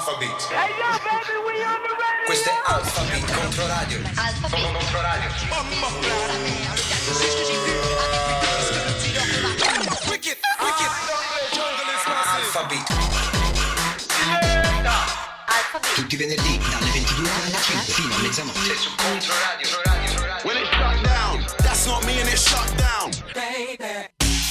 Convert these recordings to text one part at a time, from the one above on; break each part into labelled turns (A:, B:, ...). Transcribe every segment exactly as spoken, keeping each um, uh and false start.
A: Alphabet. Hey yo baby, we on the radio. Questo è Alphabet Controradio. Alphabet Controradio. Mamma mia. Wicked, wicked. Alphabet. Alphabet. Tutti i venerdì dalle ventidue e trentacinque fino a mezzanotte su Controradio. When it shut down, that's not me and it shut down. Baby.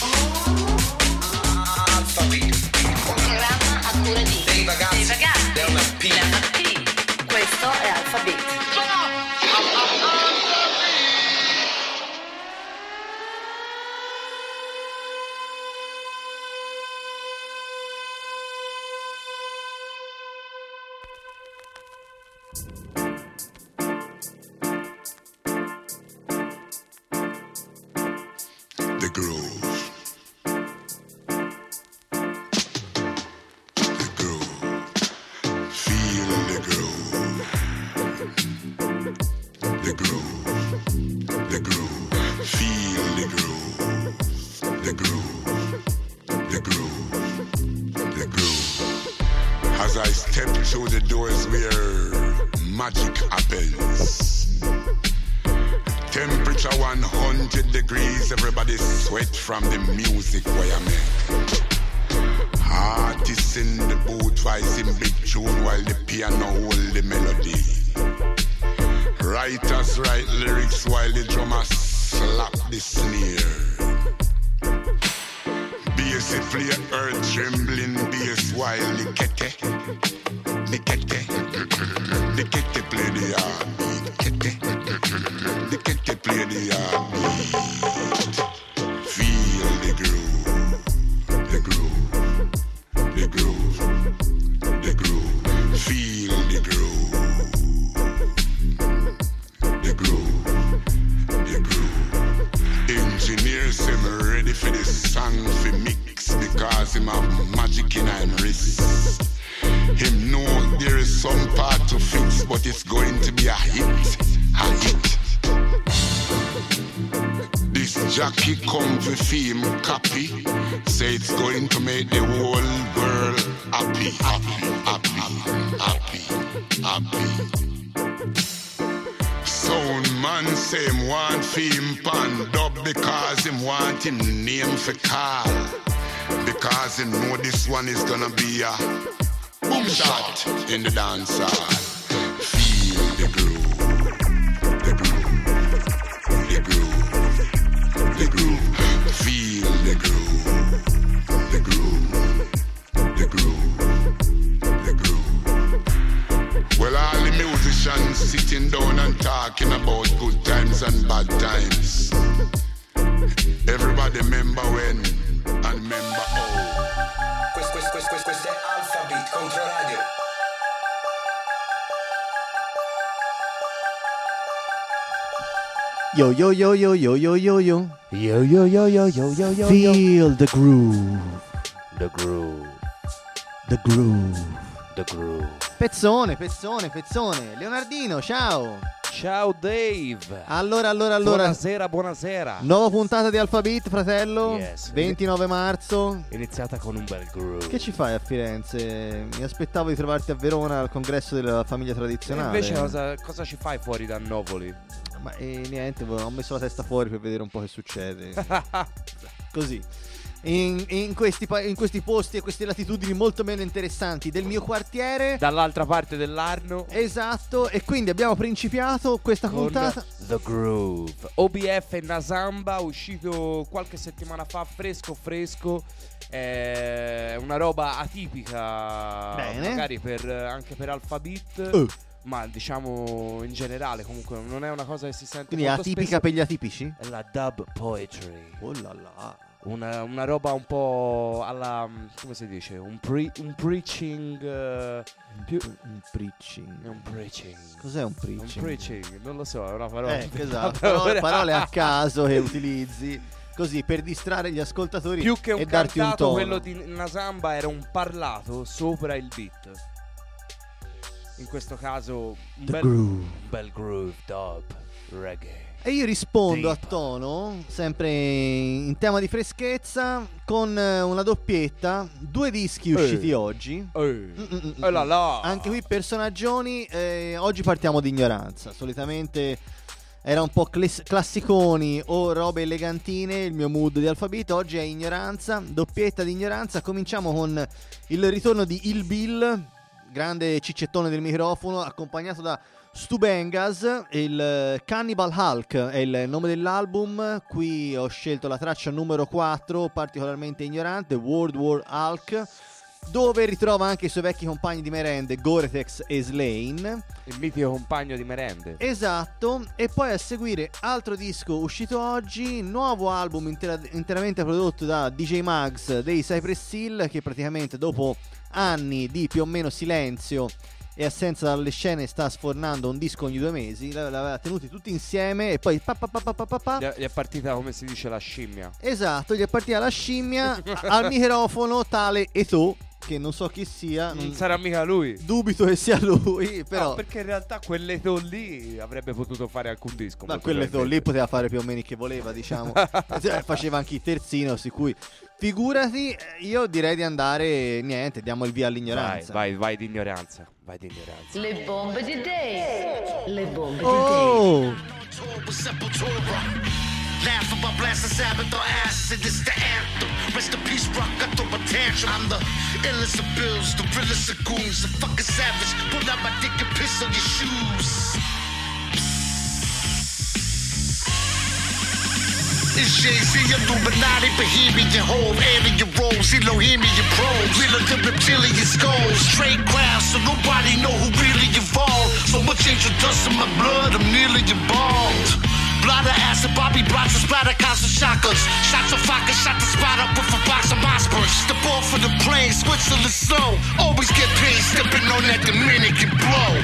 A: Alphabet.
B: Un programma a cura di
A: dei ragazzi,
B: dei ragazzi
A: della P.
B: della P. Questo è Alphabet.
A: The groove.
C: Through the doors where magic happens. Temperature one hundred degrees, everybody sweat from the music where I make. Artists in the booth voicing big tune while the piano hold the melody. Writers write lyrics while the drummer slap the snare. Bass play earth trembling bass while the kete The kete, the kete play the heartbeat. Kete, the kete play the heartbeat. Feel the groove, the groove, the groove, the groove. Feel the groove, the groove, the groove. Engineers say me ready for this song for mix because him have magic in him wrist. Him know there is some part to fix, but it's going to be a hit, a hit. This jockey come for fame copy, say it's going to make the whole world happy, happy, happy, happy, happy. Sound man say him want fame pan dub because him want him name for call, because him know this one is gonna be a boom shot in the dance hall. Feel the groove, the groove, the groove, the groove. Feel the groove, the groove, the groove, the groove. Well, all the musicians sitting down and talking about good times and bad times. Everybody remember when and remember how.
A: Questo, questo, questo, questo è Alphabet Controradio.
D: Yo yo yo yo yo yo yo yo
E: Yo yo yo yo yo yo yo
D: Feel the groove,
E: The groove,
D: the groove.
E: the groove.
D: Pezzone, pezzone, pezzone. Leonardino, ciao.
E: Ciao Dave.
D: Allora, allora, allora.
E: Buonasera, buonasera.
D: Nuova puntata di Alphabet, fratello.
E: Yes.
D: ventinove marzo.
E: Iniziata con un bel groove.
D: Che ci fai a Firenze? Mi aspettavo di trovarti a Verona al congresso della famiglia
E: E
D: tradizionale.
E: invece cosa, cosa ci fai fuori da Novoli?
D: Ma eh, niente, ho messo la testa fuori per vedere un po' che succede. Così. In, in, questi, pa- in questi posti e queste latitudini molto meno interessanti del mio quartiere.
E: Dall'altra parte dell'Arno.
D: Esatto. E quindi abbiamo principiato questa
E: Con
D: puntata.
E: The Groove. O B F Nasamba, uscito qualche settimana fa, fresco fresco. È una roba atipica.
D: Bene.
E: Magari per, anche per Alphabet.
D: Uh.
E: Ma diciamo in generale comunque non è una cosa che si sente
D: Quindi è
E: molto
D: atipica
E: spesso.
D: per gli atipici?
E: È la dub poetry.
D: Oh là là.
E: Una, una roba un po' alla, come si dice, un, pre, un preaching uh, più,
D: Un preaching.
E: è un preaching.
D: Cos'è un
E: Un
D: preaching?
E: preaching, non lo so, è una parola.
D: Eh, esatto. Parole, parole a caso che utilizzi così per distrarre gli ascoltatori
E: Più che un
D: e darti un
E: cantato,
D: tono.
E: quello di Nasamba era un parlato sopra il beat. In questo caso un
D: The
E: bel
D: groove.
E: un bel groove dub reggae.
D: E io rispondo
E: Deep.
D: a tono, sempre in tema di freschezza, con eh, una doppietta, due dischi usciti
E: Eh.
D: oggi.
E: Eh.
D: Mm-mm-mm.
E: Eh là là.
D: Anche qui personaggioni, eh, oggi partiamo di ignoranza. Solitamente era un po' clas- classiconi o robe elegantine il mio mood di Alphabet. Oggi è ignoranza, doppietta di ignoranza. Cominciamo con il ritorno di Il Bill, grande ciccettone del microfono, accompagnato da Stu Bengas. Il Cannibal Hulk è il nome dell'album. Qui ho scelto la traccia numero quattro, particolarmente ignorante, World War Hulk, dove ritrova anche i suoi vecchi compagni di merende, Gore-Tex e Slain.
E: Il mitico compagno di merende.
D: Esatto. E poi a seguire altro disco uscito oggi, nuovo album intera- interamente prodotto da D J Mags dei Cypress Hill, che praticamente dopo anni di più o meno silenzio e assenza dalle scene sta sfornando un disco ogni due mesi. L'aveva tenuti tutti insieme e poi pa pa pa pa pa pa pa.
E: Gli è, gli è partita, come si dice, la scimmia.
D: Esatto, gli è partita la scimmia. Al microfono tale Eto, che non so chi sia,
E: Non
D: non
E: sarà mica lui.
D: dubito che sia lui, però
E: No, perché in realtà quell'etò lì avrebbe potuto fare alcun disco.
D: ma
E: molto
D: quell'Eto lì
E: probabilmente.
D: poteva fare più o meno che voleva, diciamo. Cioè, faceva anche i terzino, su cui figurati. Io direi di andare, niente, diamo il via
E: Vai,
D: all'ignoranza.
E: vai, vai di ignoranza. Vai di ignoranza.
B: Le bombe di Dave. Le bombe di
D: Oh,
A: Sepultura. Laugh about blasting Sabbath or acid, it's the anthem. Rest in peace, rock, I throw a tantrum. I'm the illest of bills, the realest of goons, the fucking savage. Pull out my dick and piss on your shoes. It's Jay-Z, Illuminati, Bohemian Hove, alien roles, Elohimian probes, real the reptilian skulls, straight crowds, so nobody know who really evolved. So much angel dust in my blood, I'm nearly embalmed. Blotter acid, Bobby Bronson, splatter constant shotguns. Shots of vodka, shot the spot up with a box of Mossberg. Step off for the plane, Switzerland slow. Always get paid, stepping on that Dominican blow.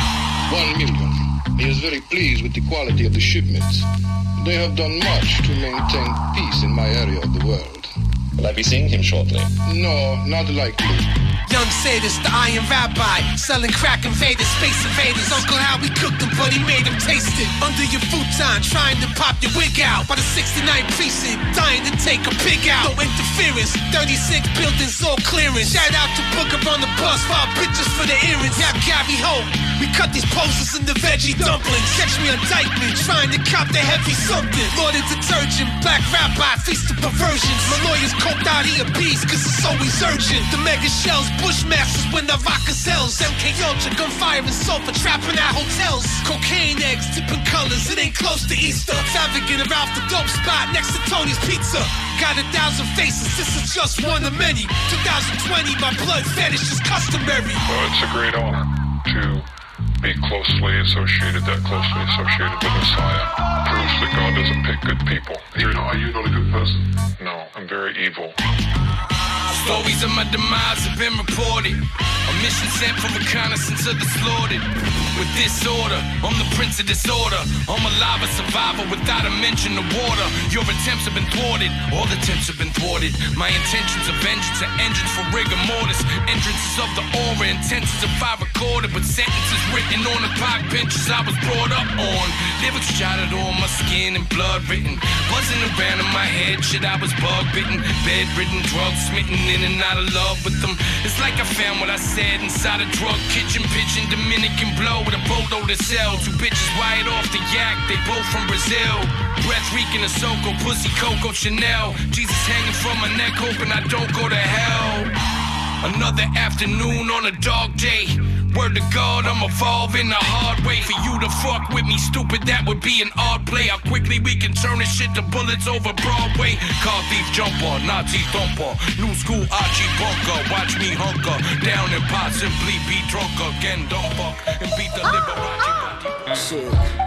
F: One million. He is very pleased with the quality of the shipments. They have done much to maintain peace in my area of the world.
G: Will I be seeing him shortly?
F: No, not likely.
H: Young Sadist, the Iron Rabbi, selling crack invaders, space invaders. Uncle Howie cooked them, but he made them taste it. Under your futon, trying to pop your wig out. By the sixty-ninth precinct, dying to take a pig out. No interference, thirty-six buildings, all clearance. Shout out to Booker on the bus, five bitches for the earrings. Yeah, Gary Hope, we cut these posters in the veggie dumplings. Catch me on Dykeman, trying to cop the heavy something. Lord of detergent, black rabbi, feast of perversions. My lawyer's coked out, he a beast, cause it's always urgent. The mega shells, Bushmasters when the vodka sells. M K Ultra, gunfire and sulfur, trapping at hotels. Cocaine eggs, tipping colors, it ain't close to Easter. Extravagant around the dope spot next to Tony's Pizza. Got a thousand faces, this is just one of many. twenty twenty, my blood fetish is customary.
I: Well, it's a great honor to be closely associated, that closely associated with Messiah. Proves that God doesn't pick good people. You're not, are you not a good person? No, I'm very evil.
H: Stories of my demise have been reported. A mission sent for reconnaissance of the slaughtered. With disorder, I'm the prince of disorder. I'm a lava survivor without a mention of water. Your attempts have been thwarted, all attempts have been thwarted. My intentions of vengeance are engines for rigor mortis. Entrances of the aura, intentions of I recorded. With sentences written on the park benches I was brought up on. Lyrics jotted on my skin and blood written. Buzzing around in my head, shit I was bug bitten. Bedridden, drugs smitten, in and out of love with them. It's like I found what I said inside a drug kitchen. Pitching Dominican blow with a boatload of sell. Two bitches wired off the yak, they both from Brazil. Breath reeking of Soko, pussy Coco Chanel. Jesus hanging from my neck, hoping I don't go to hell. Another afternoon on a dog day. Word to God, I'm evolving the hard way. For you to fuck with me, stupid, that would be an odd play. How quickly we can turn this shit to bullets over Broadway. Car thief jumper, Nazi thumper, new school Archie bunker. Watch me hunker down and possibly be drunk again, dumper, and beat the Liberace.
J: Shit.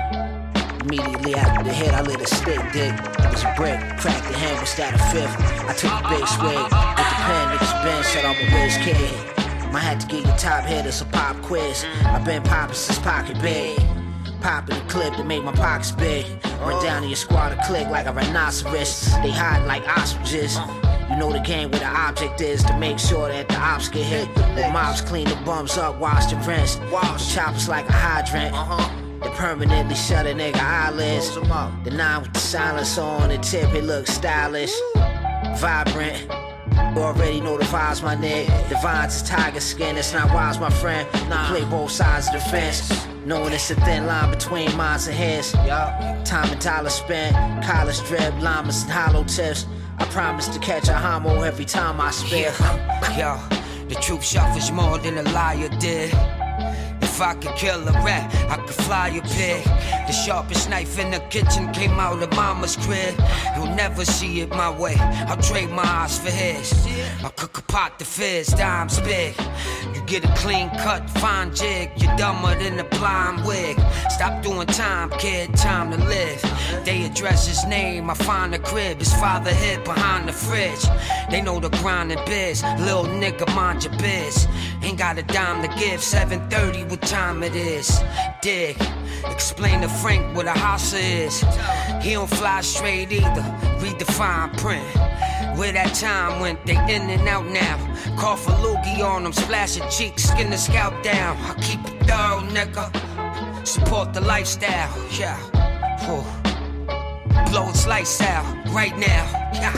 J: Immediately after the hit, I lit a stick dick. It was a brick, cracked the hand, was that a fifth? I took the big swig with the pen, niggas been said I'm a whiz kid. I had to get your top hit, it's a pop quiz. I've been popping since pocket big. Popping the clip to make my pockets big. Run down to your squad to click like a rhinoceros. They hide like ostriches. You know the game where the object is to make sure that the ops get hit. The mobs clean the bums up, wash and rinse. The choppers like a hydrant. to permanently shut a nigga eyelids. The nine with the silence on the tip, it looks stylish, vibrant. Already know the vibes, my nigga. The vines is tiger skin, it's not wise, my friend. Nah. Play both sides of the fence, knowing it's a thin line between minds and heads. Time and dollar spent, college drip, llamas and hollow tips. I promise to catch a homo every time I spit.
K: Yo, the truth suffers more than a liar did. If I could kill a rat, I could fly a pig. The sharpest knife in the kitchen came out of mama's crib. You'll never see it my way, I'll trade my eyes for his. I'll cook a pot to fizz, dimes big. You get a clean cut, fine jig. You're dumber than a blind wig. Stop doing time, kid, time to live. They address his name, I find a crib. His father hid behind the fridge. They know the grind and biz. Lil nigga, mind your biz. Ain't got a dime to give, seven thirty, what time it is. Dig, explain to Frank what a house is. He don't fly straight either, read the fine print. Where that time went, they in and out now. Cough a loogie on them, splash a cheek, skin the scalp down. I keep it thorough, nigga. Support the lifestyle, yeah. Whew. Blow its lights out, right now, yeah.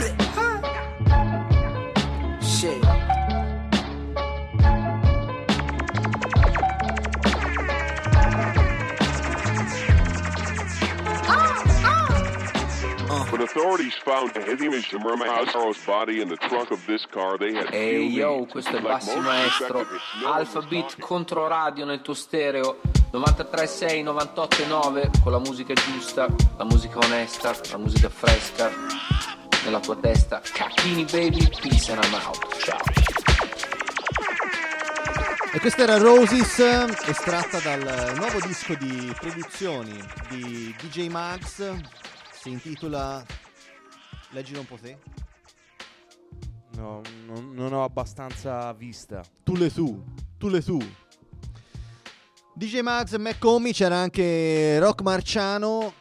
K: Shit.
L: When authorities found the image of Masaro's body in the trunk of this car, they had
M: Ehi hey, yo, questo è Bassi Maestro. Alpha Beat contro radio nel tuo stereo novantatré sei, novantotto nove, con la musica giusta, la musica onesta, la musica fresca nella tua testa. Cacchini baby, peace and I'm out. Ciao.
D: E questa era Roses, estratta dal nuovo disco di produzioni di D J Mags. Si intitola... Leggilo un po' te.
E: No, non, non ho abbastanza vista.
D: Tu le su, tu le su. D J Mags e McComie, c'era anche Rock Marciano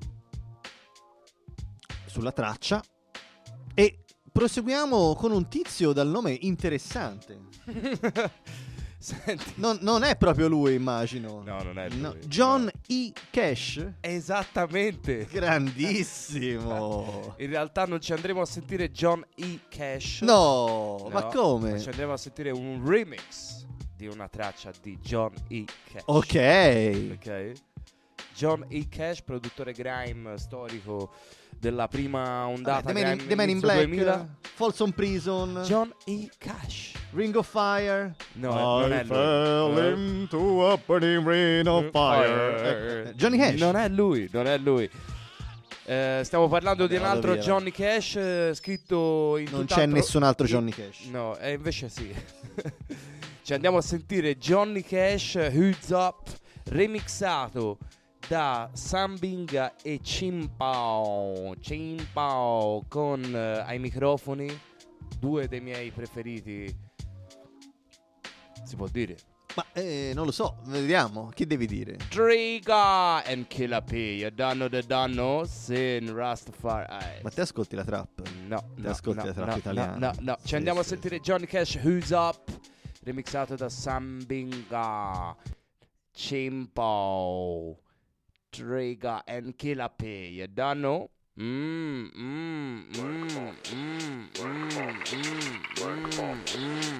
D: sulla traccia. E proseguiamo con un tizio dal nome interessante.
E: Senti.
D: Non, non è proprio lui, immagino.
E: No, non è lui.
D: No. John
E: no.
D: E. Cash.
E: Esattamente.
D: Grandissimo.
E: In realtà non ci andremo a sentire John E. Cash.
D: No,
E: no,
D: ma come?
E: Ma ci andremo a sentire un remix di una traccia di John E. Cash.
D: Ok.
E: Ok. John E. Cash, produttore grime storico della prima ondata.
D: Vabbè, The Man in, The Man in Black, duemila. Folsom Prison.
E: John E. Cash.
D: Ring of Fire.
E: No, non è lui.
D: Fell into a burning rain of fire. Johnny Cash.
E: Non è lui, non è lui. Eh, stiamo parlando Vabbè, di un altro via, Johnny Cash, eh, scritto in
D: non
E: tutt'altro...
D: c'è nessun altro Johnny Cash.
E: No, e eh, invece sì. Ci andiamo a sentire Johnny Cash, Hoods Up, remixato da Sambinga e Chimpao. Chimpao con uh, ai microfoni, due dei miei preferiti. Si può dire?
D: Ma eh, non lo so, vediamo. Chi devi dire?
E: Trigger and Killer P. You don't know the danno Sin Rastafari.
D: Ma te ascolti la trap?
E: No,
D: te
E: no,
D: ascolti
E: no,
D: la trap
E: no,
D: italiana?
E: No, no, no. Ci
D: sì,
E: andiamo
D: sì,
E: a sentire
D: sì.
E: Johnny Cash, Who's Up, remixato da Sambinga, Chimpo, Trigger and Killer P. You don't know? Mmm, mmm, mmm, mmm, mmm, mmm, mmm.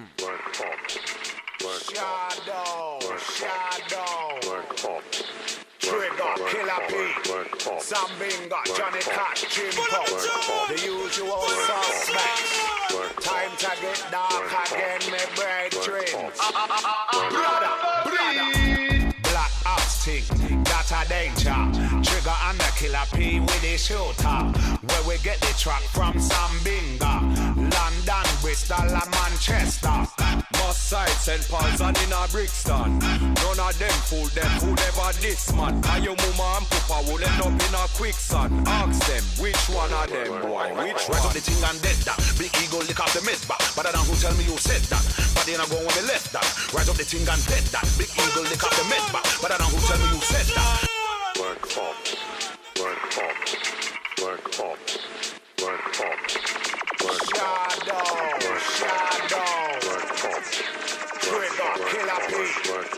N: Shadow, Shadow, Trigger, Killer P, Sambinga, Johnny Cash, Chimpo, the usual suspects. Time to get dark again, my brethren. Brother, brother, Black Ops thing, that's a danger. Trigger and the Killer P with the shooter. Where we get the track from Sambinga, London, Bristol and Manchester. Must side Saint Paul's and in a Brixton. None of them fool them who never this man. Cause your mama and papa will end up in a quicksand. Ask them which one of them boy, which one? Rise up the thing and dead that. Big ego lick off the mid back. But I don't who tell me you said that. But then I go when we left that. Rise up the thing and dead that. Big ego lick off the mid back. But I don't who tell me you said that. Work pops, work pops, work pops, work pops, work Shadow, Shadow, work pops, Trigger, Killer P,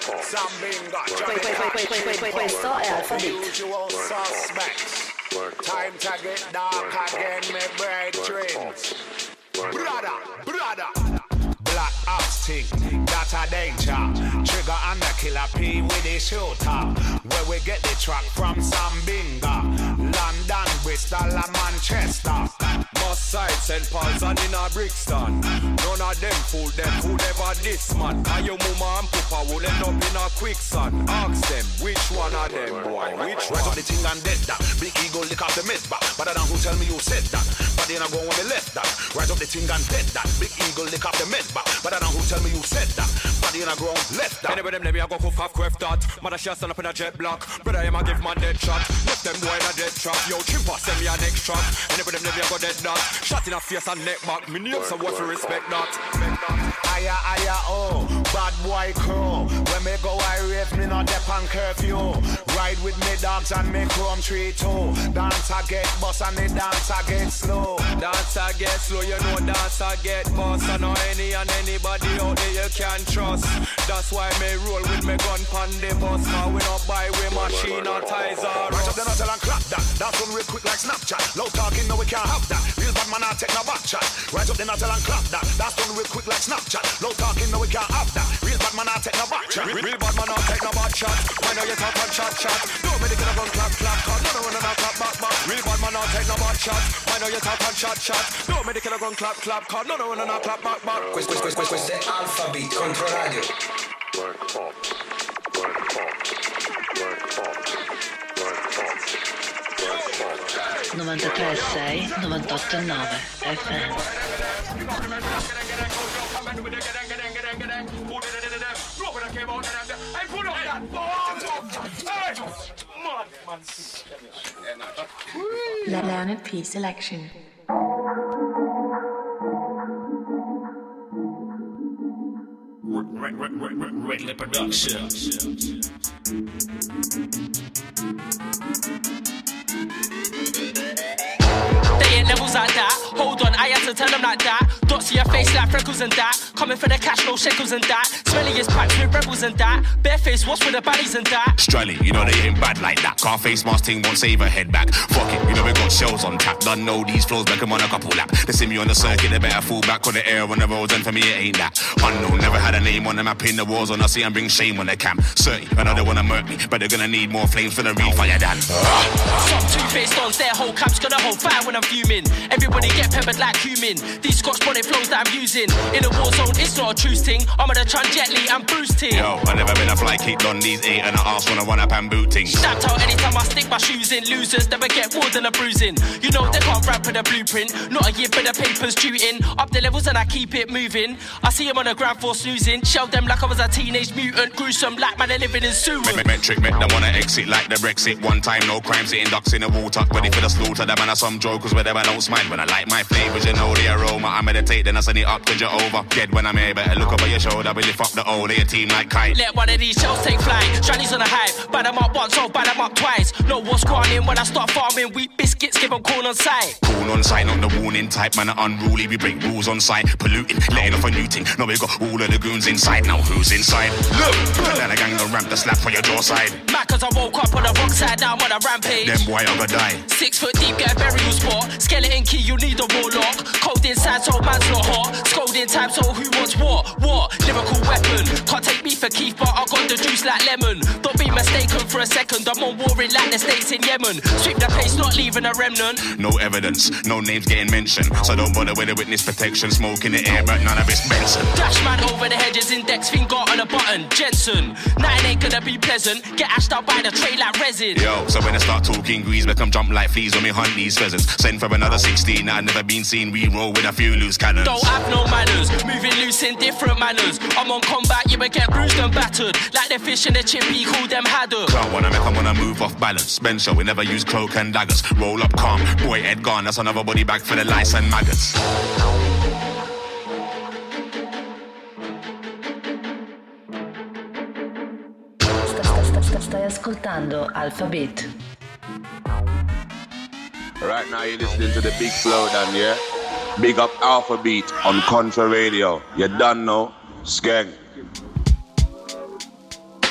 N: Sambinga,
B: Que- que- que- que- que- que- Questo è Alpha
N: the
B: Beat.
N: usual suspects. Time to get dark again, me brethren. Brother, brother. Black ops thing, that's a danger. Trigger and the killer P with the shooter. Where we get the track from Sambinga, London, Bristol and Manchester.
O: Must side Saint Paul's and in a Brixton. None of them fool them who never this man. And your mama and papa will end up in a quicksand. Ask them, which one of them, boy, which
P: Rise
O: one?
P: up the thing and dead that. Big ego lick off the mid back. But then who tell me you said that? But then I go on the left that. Rise up the thing and dead that. Big ego lick off the mid back. But then who tell me you said that? But then I go on left that.
O: Anyway, them let me I go cook off quiff that. Mother shall stand up in a jet block. Brother, I'm a give man dead shot. Left them boy in a dead trap. Yo, chimpa send me a next trap. Anyway, them let me I go dead that. Shot in a face and neck back. Me name some what to respect that.
N: Aya, aya, oh, bad boy crew. When me go, I rave, me not dep on curfew. Ride with me dogs and me chrome tree too. Dance I get bust and the dance I get slow.
O: Dance I get slow, you know dance I get boss. I know any and anybody out there you can trust. That's why me roll with me gun pan the bus. Cause we not buy we machine or ties or
P: Rise up the nuzzle and clap that. That's one real quick like Snapchat. Low talking, no we can't have that. Real bad man, I take no back chat. Rise up the nuzzle and clap that. That's one real quick like Snapchat. Low talking, no we can't have that. Real bad man, I take no back chat.
O: Real, real bad man, I'll take no bad shot. I know you talk on chat chat. Don't make it a gun clap clap. Cause no run and a clap back back. Real bad man, I'll take no bad shot. I know you talk on chat chat. Don't make it a gun clap clap. Cause no run and a clap back back.
Q: Questo, questo, questo, questo è Alpha Beat Controradio.
I: Black Ops, Black Ops, Black Ops, Black Ops, Black Ops.
B: novantatré virgola sei, novantotto virgola nove F M.
R: La Leonard P Selection.
Q: Regular production.
S: They ain't levels like that. Hold on, I had to tell them like that. Dots in your face like freckles and that. Coming for the cash, no shekels and that. Smelly is packed with rebels and that. Bareface, what's with the baddies and that?
T: Strelly, you know they ain't bad like that. Car face mask ting won't save a head back. Fuck it, you know we got shells on tap. Done know these flows, make them on a couple lap. They see me on the circuit, they better fall back on the air on the roads, and for me it ain't that. Unknown, never had a name on the map in the wars on. I see and bring shame on the camp. Certain, I know they wanna murk me, but they're gonna need more flames for the real fire than.
S: Some two-faced dons, their whole camp's gonna hold fire when I'm fuming. Everybody get peppered like cumin. These Scotch bonnet flows that I'm using. In a war zone, it's not a truce ting. I'm on a Chun Jet Li and Bruce ting.
T: Yo, I never been a fly kicked on these eight and I ask when I run up and boot ting.
S: Snapped out anytime I stick my shoes in. Losers never get more than a bruising. You know they can't rap with a blueprint. Not a year for the papers due in. Up the levels and I keep it moving. I see him on the ground for snoozing. Shell them like I was a teenage mutant. Gruesome like man, they living in sewer.
T: Me- Metric make them wanna exit like the Brexit. One time, no crime, sitting ducks in the water. Ready for the slaughter, the man are some jokers where them I don't smile. When I like my flavors, you know the aroma. I meditate, then I send it up to Jehovah. Dead when I'm here, better look over your shoulder. We lift up the old, they a team like kite.
S: Let one of these shells take flight. Shinies on the hype. Buy them up once, so buy them up twice. Know what's grinding when I start farming. Wheat biscuits, give them corn on sight.
T: Corn on sight, not the warning type. Man are unruly, we break rules on sight. Polluting, letting off a new thing. Now we got all of the goons inside. Now who's inside? Look! Then I gang the ramp, the slap for your jaw side.
S: Mad cause I woke up on the wrong side, now I'm on a rampage.
T: Them boy, I'm gonna die.
S: Six foot deep, get a burial spot. Skeleton key, you need a warlock. Cold inside, so man's not hot. Scolding time, so who wants what? What? Lyrical weapon. Can't take me for Keith, but I got the juice like lemon. Don't be mistaken for a second, I'm on warring like the states in Yemen. Sweep the place, not leaving a remnant.
T: No evidence, no names getting mentioned. So don't bother with the witness protection. Smoke in the air, but none of it's Benson.
S: Dash man over the hedges, index finger on a button. Jensen, nine ain't gonna be pleasant. Get ashed out by the tray like resin.
T: Yo, so when I start talking grease, make them jump like fleas when we hunt these pheasants. Send for another sixteen, I've never been seen. We roll with a few loose cannons.
S: Don't have no manners, moving loose in different manners. I'm on combat, you will get bruised and battered. Like the fish in the chippy, call them haddock.
T: Can't wanna make them wanna move off balance. Spencer, we never use cloak and daggers. Roll up calm, boy Ed gone, that's another body bag for the lice and maggots.
B: Stai ascoltando Alpha Beat.
U: Right now you're listening to the big flow down, yeah? Big up Alpha Beat on Contra Radio. You done know? Skeng.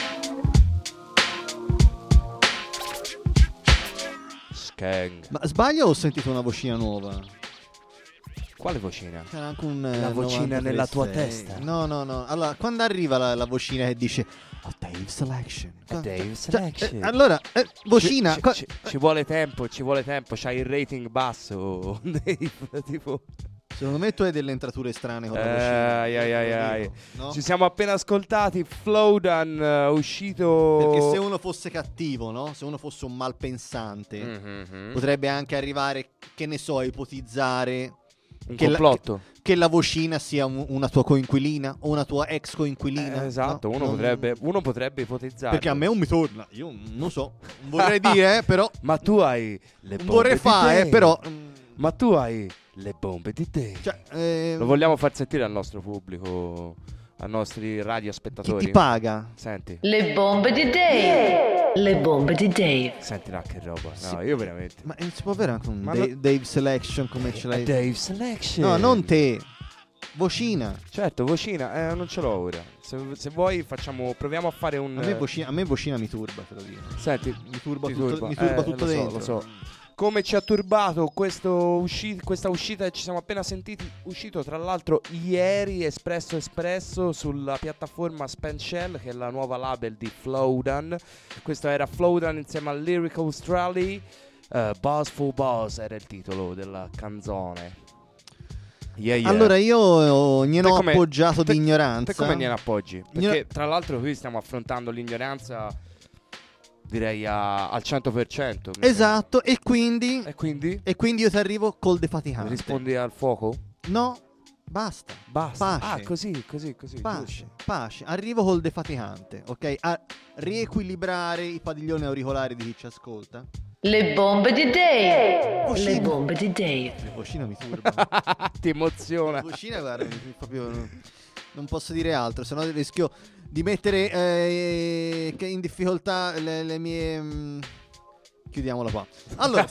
E: Gang.
D: Ma sbaglio o ho sentito una vocina nuova?
E: Quale vocina?
D: C'era anche un
E: La vocina nella tua testa.
D: No, no, no. Allora, quando arriva la, la vocina che dice oh, Dave Selection.
E: Dave
D: Cioè,
E: Selection.
D: eh, allora, eh, vocina.
E: Ci,
D: co-
E: ci, ci vuole tempo, ci vuole tempo. C'hai il rating basso, Dave. Tipo.
D: Secondo me tu hai delle entrature strane con la
E: Eh,
D: vocina.
E: ai, ai, ai, ai.
D: Dico, no?
E: Ci siamo appena ascoltati Flowdan, uh, uscito.
D: Perché se uno fosse cattivo, no? Se uno fosse un malpensante,
E: Mm-hmm.
D: potrebbe anche arrivare, che ne so, a ipotizzare
E: Un
D: che la,
E: complotto.
D: che, che la vocina sia un- una tua coinquilina o una tua ex coinquilina.
E: Eh, esatto,
D: no?
E: uno,
D: Non-
E: potrebbe, uno potrebbe ipotizzare.
D: Perché a me non mi torna. Io non so. Non vorrei dire, eh, però.
E: Ma tu hai le bombe
D: Vorrei
E: di
D: fare,
E: Dave.
D: eh, però.
E: Ma tu hai le bombe di te.
D: Cioè, eh,
E: Lo vogliamo far sentire al nostro pubblico, ai nostri
D: chi
E: radiospettatori?
D: ti paga?
E: Senti.
B: Le bombe di Dave. Le bombe di Dave.
E: Senti là che roba. No,
D: Sì.
E: io veramente.
D: Ma eh, si può avere anche un
E: Ma
D: Dave,
E: no-
D: Dave Selection come ce l'hai?
E: Dave Selection.
D: No, non te. Vocina.
E: Certo, vocina, eh, non ce l'ho ora. Se, se vuoi facciamo, proviamo a fare un...
D: A me, vocina, a me vocina mi turba, te lo dico.
E: Senti,
D: Mi turba
E: ti
D: tutto, mi turba
E: Eh,
D: tutto
E: lo so,
D: dentro.
E: lo so. Come ci ha turbato questo usci- questa uscita che ci siamo appena sentiti, uscito tra l'altro ieri, Espresso Espresso, sulla piattaforma Spent Shell, che è la nuova label di Flowdan. Questo era Flowdan insieme a Lyrical Strally. uh, Buzz for Buzz era il titolo della canzone. Yeah, yeah.
D: Allora io gliene
E: Te
D: ho
E: come-
D: appoggiato
E: te-
D: di ignoranza.
E: Te come gliene appoggi? Perché
D: Gliene-
E: tra l'altro qui stiamo affrontando l'ignoranza, direi a- al cento per cento. mi
D: Esatto, e quindi
E: E quindi?
D: e quindi io ti arrivo col defaticante.
E: Rispondi al fuoco?
D: No, basta.
E: Basta.
D: Pace.
E: Ah, così, così, così.
D: Pace,
E: giusto.
D: pace. Arrivo col defaticante, ok? A riequilibrare i padiglioni auricolari di chi ci ascolta.
B: Le bombe di Dave.
D: Vocina.
B: Le bombe di Dave.
D: La vocina mi turba.
E: Ti emoziona.
D: La vocina, guarda, mi- mi proprio non posso dire altro, se no rischio di mettere eh, che in difficoltà le, le mie mm, chiudiamola qua. Allora,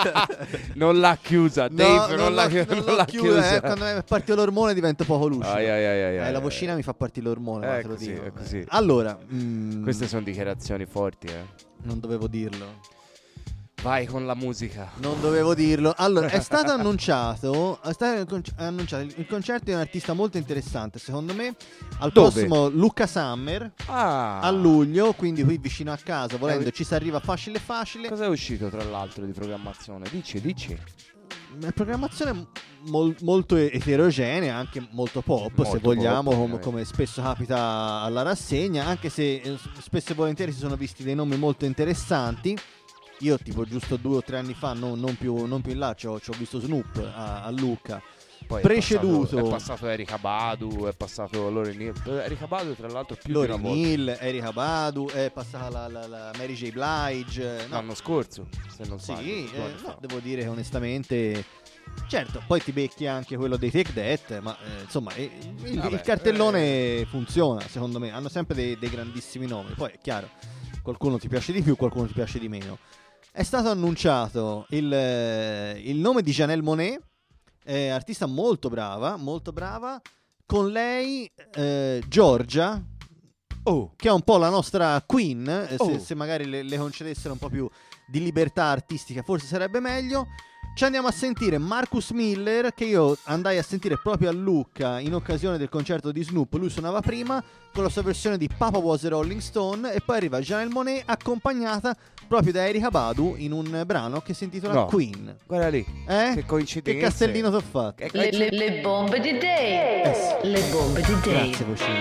E: Non l'ha chiusa, Dave,
D: no,
E: non, l'ha,
D: l'ho-
E: non
D: l'ho
E: l'ha
D: chiusa,
E: chiusa.
D: eh, quando è partito l'ormone divento poco lucido.
E: Ai, ai, ai, ai,
D: Eh,
E: ai,
D: la
E: ai.
D: vocina mi fa partire l'ormone,
E: È
D: ma te lo
E: così,
D: dico.
E: è così.
D: Allora, mm,
E: Queste sono dichiarazioni forti, eh.
D: non dovevo dirlo.
E: Vai con la musica.
D: Non dovevo dirlo. Allora, è stato annunciato, è stato conc- annunciato il il concerto di un artista molto interessante, secondo me, al
E: Dove?
D: prossimo Lucca Summer
E: Ah.
D: a luglio, quindi qui vicino a casa, volendo
E: Eh,
D: ci si arriva facile facile.
E: Cosa è uscito tra l'altro di programmazione? Dici, dici.
D: Una programmazione mol- molto eterogenea, anche molto pop,
E: Molto
D: se vogliamo,
E: pop,
D: com-
E: ovviamente.
D: come spesso capita alla rassegna, anche se eh, s- spesso e volentieri si sono visti dei nomi molto interessanti. Io tipo giusto due o tre anni fa, no- non, più, non più in là, ci ho ci ho visto Snoop a, a Lucca.
E: Poi
D: Preceduto
E: È passato, è passato Erika Badu, è passato Lauryn Hill. Erika Badu tra l'altro più
D: Lauryn
E: di una volta.
D: Hill, Erika Badu, è passata la, la- la Mary J. Blige. No,
E: L'anno scorso, se non
D: sì,
E: sbaglio. due
D: eh,
E: anni
D: no,
E: fa.
D: devo dire che onestamente. Certo, poi ti becchi anche quello dei Take That, ma eh, insomma eh, il,
E: Vabbè,
D: il cartellone funziona, secondo me. Hanno sempre dei, dei grandissimi nomi. Poi è chiaro, qualcuno ti piace di più, qualcuno ti piace di meno. È stato annunciato il, eh, il nome di Janelle Monáe, eh, artista molto brava, molto brava. Con lei eh, Giorgia,
E: Oh.
D: che è un po' la nostra queen, eh, se,
E: Oh.
D: se magari le, le concedessero un po' più di libertà artistica forse sarebbe meglio. Ci andiamo a sentire Marcus Miller, che io andai a sentire proprio a Lucca in occasione del concerto di Snoop. Lui suonava prima con la sua versione di Papa Was a Rolling Stone, e poi arriva Janelle Monáe accompagnata proprio da Erika Badu in un brano che si intitola
E: No.
D: Queen.
E: Guarda lì.
D: Eh?
E: Che coincidenza.
D: Che castellino t'ho fatto.
E: Che
B: Le, le- le bombe di Dave. Le bombe di Dave.
D: Grazie vocina.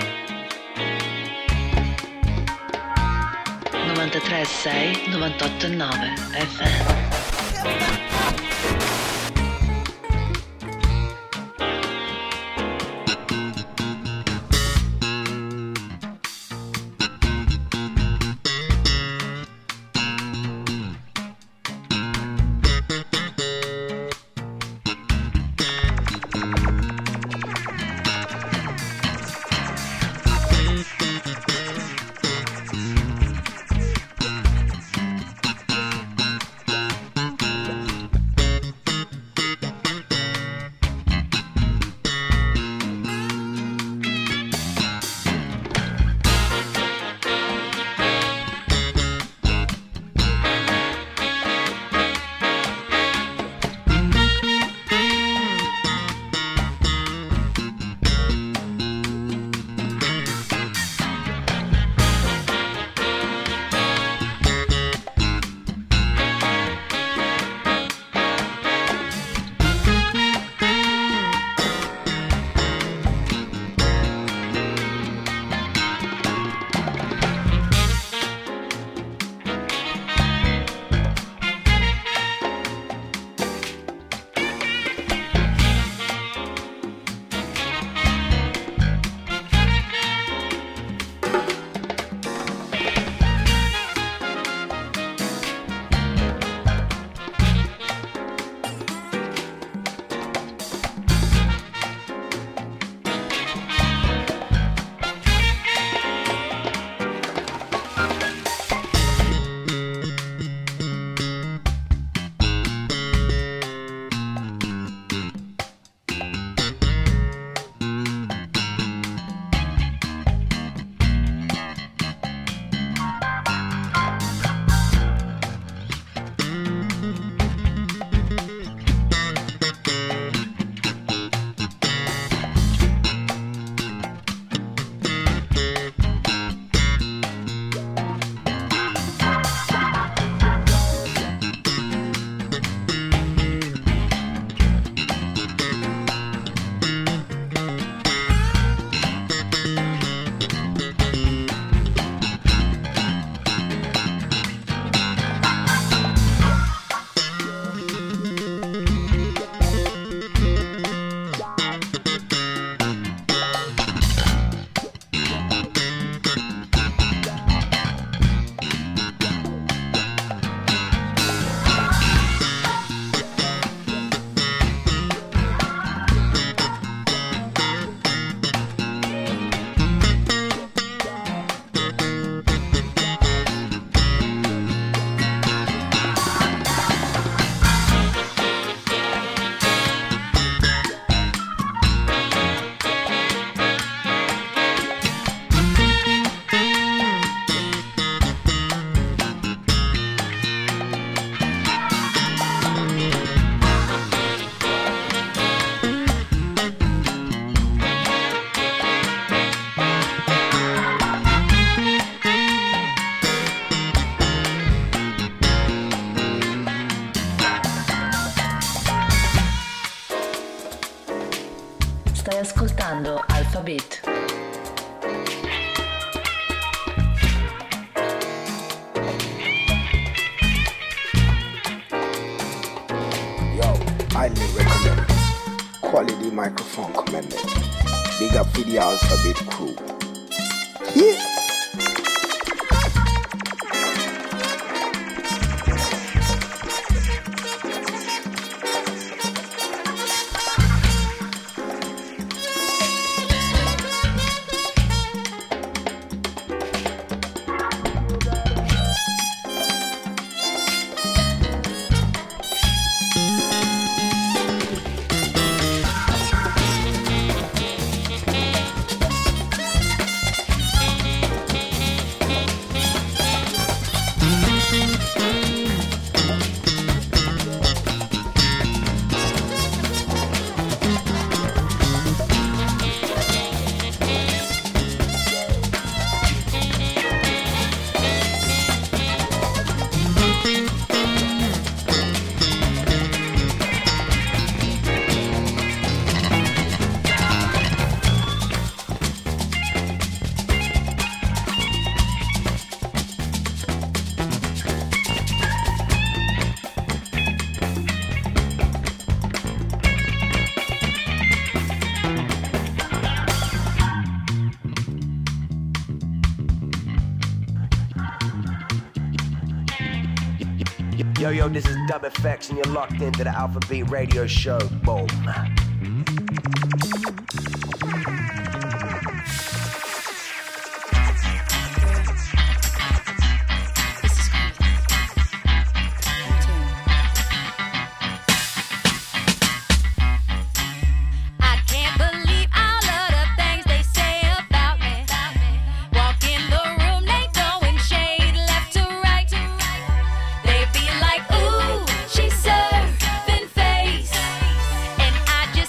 B: novantatré sei, novantotto nove F M. Alphabet.
R: Yo, highly recommend. Quality microphone commended. Big up for the Alphabet crew. Yeah.
V: Yo, yo, this is Dub Effects, and you're locked into the Alphabet Radio Show. Boom.
W: They be like, ooh, she's surfing face. And I just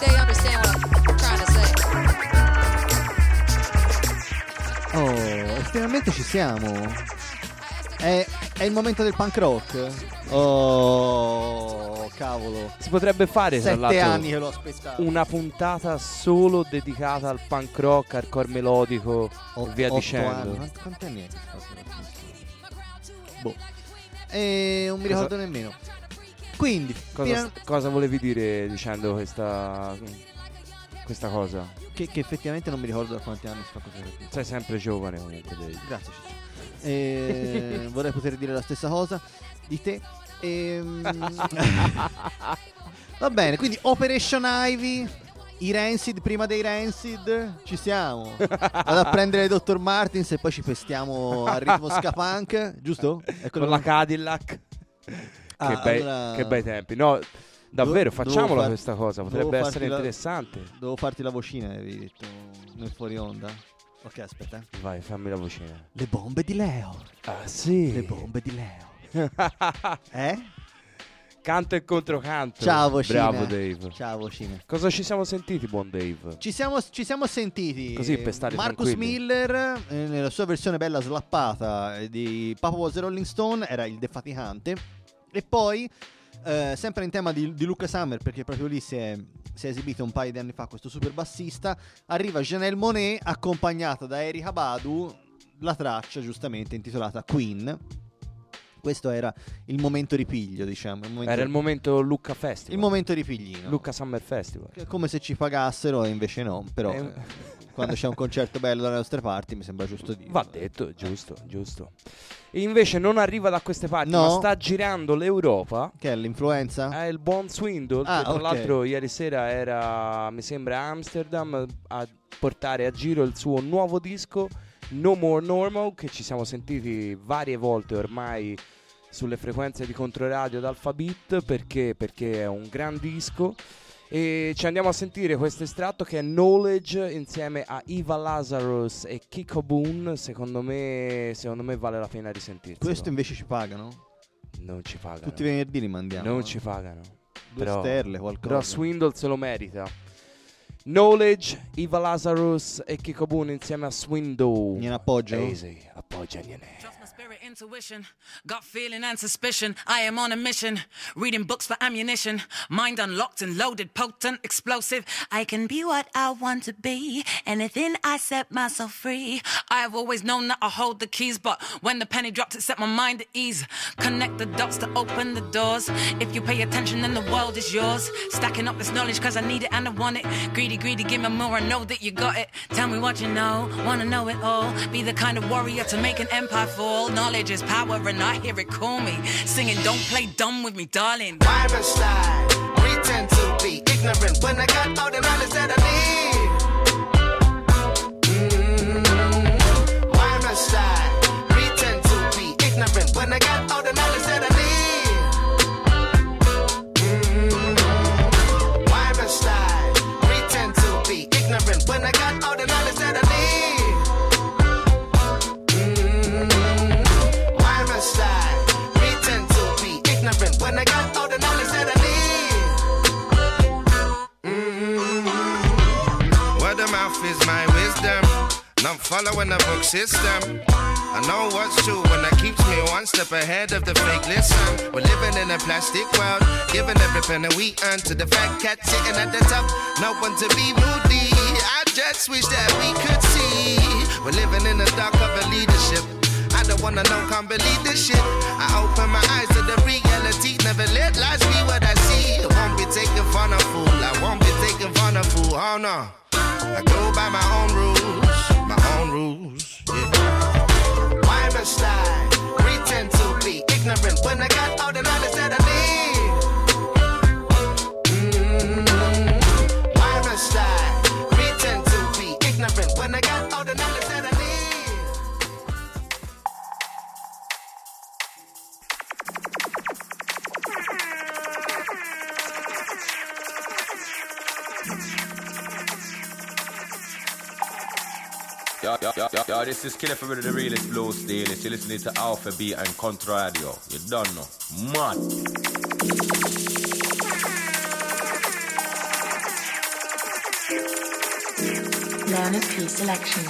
A: they understand what I'm trying to say.
D: Oh, estremamente ci siamo. È, è il momento del punk rock. Oh, cavolo.
E: Si potrebbe fare tra
D: Sette
E: l'altro
D: anni che l'ho aspettato.
E: una puntata solo dedicata al punk rock, hardcore melodico
D: O-
E: e via
D: otto
E: dicendo.
D: anni. Quanti, quanti anni è? Boh. E non mi
E: Cosa-
D: ricordo nemmeno. Quindi,
E: Cosa,
D: fino-
E: cosa volevi dire dicendo questa questa cosa?
D: che, che effettivamente non mi ricordo da quanti anni si fa così.
E: Sei sempre giovane comunque, Dave.
D: Grazie Ciccio. E vorrei poter dire la stessa cosa di te. Ehm, Va bene, quindi Operation Ivy, i Rancid prima dei Rancid, ci siamo. Vado a prendere il dottor Martins e poi ci pestiamo al ritmo ska punk, giusto? È quello
E: Con la
D: che-
E: Cadillac.
D: Ah,
E: che, bei,
D: allora-
E: che bei tempi. No, davvero,
D: Dovevo
E: facciamola
D: far-
E: questa cosa,
D: dovevo
E: potrebbe
D: farti
E: essere
D: la-
E: interessante.
D: Devo farti la vocina, avevi detto nel fuori onda. Ok, aspetta. eh.
E: Vai, fammi la vocina.
D: Le bombe di Leo.
E: Ah, sì.
D: Le bombe di Leo. Eh?
E: Canto e controcanto.
D: Ciao vocina.
E: Bravo Dave.
D: Ciao vocina.
E: Cosa ci siamo sentiti, buon Dave?
D: Ci siamo, ci siamo sentiti
E: Così per stare
D: Marcus
E: tranquilli.
D: Miller eh, nella sua versione bella slappata eh, di Papa Was a Rolling Stone, era il defaticante. E poi eh, sempre in tema di, di Luca Summer, perché proprio lì si è, si è esibito un paio di anni fa questo super bassista, arriva Janelle Monáe accompagnata da Erykah Badu, la traccia giustamente intitolata Queen. Questo era il momento ripiglio, diciamo. Il momento,
E: Era il momento Lucca Festival.
D: il momento ripiglino.
E: Lucca Summer Festival.
D: Che è come se ci pagassero e invece no. Però
E: Eh,
D: eh, quando c'è un concerto bello dalle nostre parti mi sembra giusto dire.
E: Va detto, giusto, giusto. E invece non arriva da queste parti,
D: No.
E: ma sta girando l'Europa.
D: Che è l'influenza?
E: È il buon Swindle,
D: Ah,
E: che tra
D: ok.
E: l'altro ieri sera era, mi sembra, a Amsterdam a portare a giro il suo nuovo disco No More Normal, che ci siamo sentiti varie volte ormai sulle frequenze di Controradio ad Alpha Beat, perché perché è un gran disco. E ci andiamo a sentire questo estratto che è Knowledge insieme a Eva Lazarus e Kiko Boone. Secondo me, secondo me vale la pena risentirsi.
D: Questo invece ci pagano?
E: Non ci pagano.
D: Tutti i venerdì li mandiamo.
E: Non
D: eh.
E: ci pagano.
D: Due
E: Però,
D: sterle, qualcosa.
E: però Swindle se lo merita. Knowledge, Eva Lazarus e Kiko Boone insieme a Swindle.
D: Gliene appoggio?
E: Easy, appoggiagliene.
C: Intuition, gut feeling and suspicion. I am on a mission, reading books for ammunition. Mind unlocked and loaded, potent, explosive. I can be what I want to be. Anything I set myself free. I've always known that I hold the keys, but when the penny dropped, it set my mind at ease. Connect the dots to open the doors. If you pay attention, then the world is yours. Stacking up this knowledge, cause I need it and I want it. Greedy, greedy, give me more, I know that you got it. Tell me what you know, wanna know it all. Be the kind of warrior to make an empire fall. Knowledge is power and I hear it call me. Singing, don't play dumb with me, darling.
W: Why must I pretend to be ignorant when I got all the knowledge that I need? Mm, why must I pretend to be ignorant when I got all the knowledge that I need? Mm, why must I pretend to be ignorant when I got all the knowledge that I need? I pretend to be ignorant when I got all the knowledge that I need? Mm-hmm. Word of mouth is my wisdom, not following the book system. I know what's true when that keeps me one step ahead of the fake. Listen, we're living in a plastic world, giving every penny we earn to the fat cat sitting at the top. No one to be moody. I just wish that we could see we're living in the dark of a leadership. I don't wanna know, can't believe this shit. I open my eyes to the reality. Never let lies be what I see. I won't be taken for a fool. I won't be taken for a fool. Oh no. I go by my own rules. My own rules. Yeah. Why must I pretend to be ignorant when I got all the knowledge that I need? Mm-hmm. Why must I pretend to be ignorant when I got all the knowledge that I need?
U: Yo, yo, yo, yo, yo, this is Killer from the realest blue steel. You're listening to Alpha Beat and Controradio. You don't know. Man.
F: Leonard P. Selection.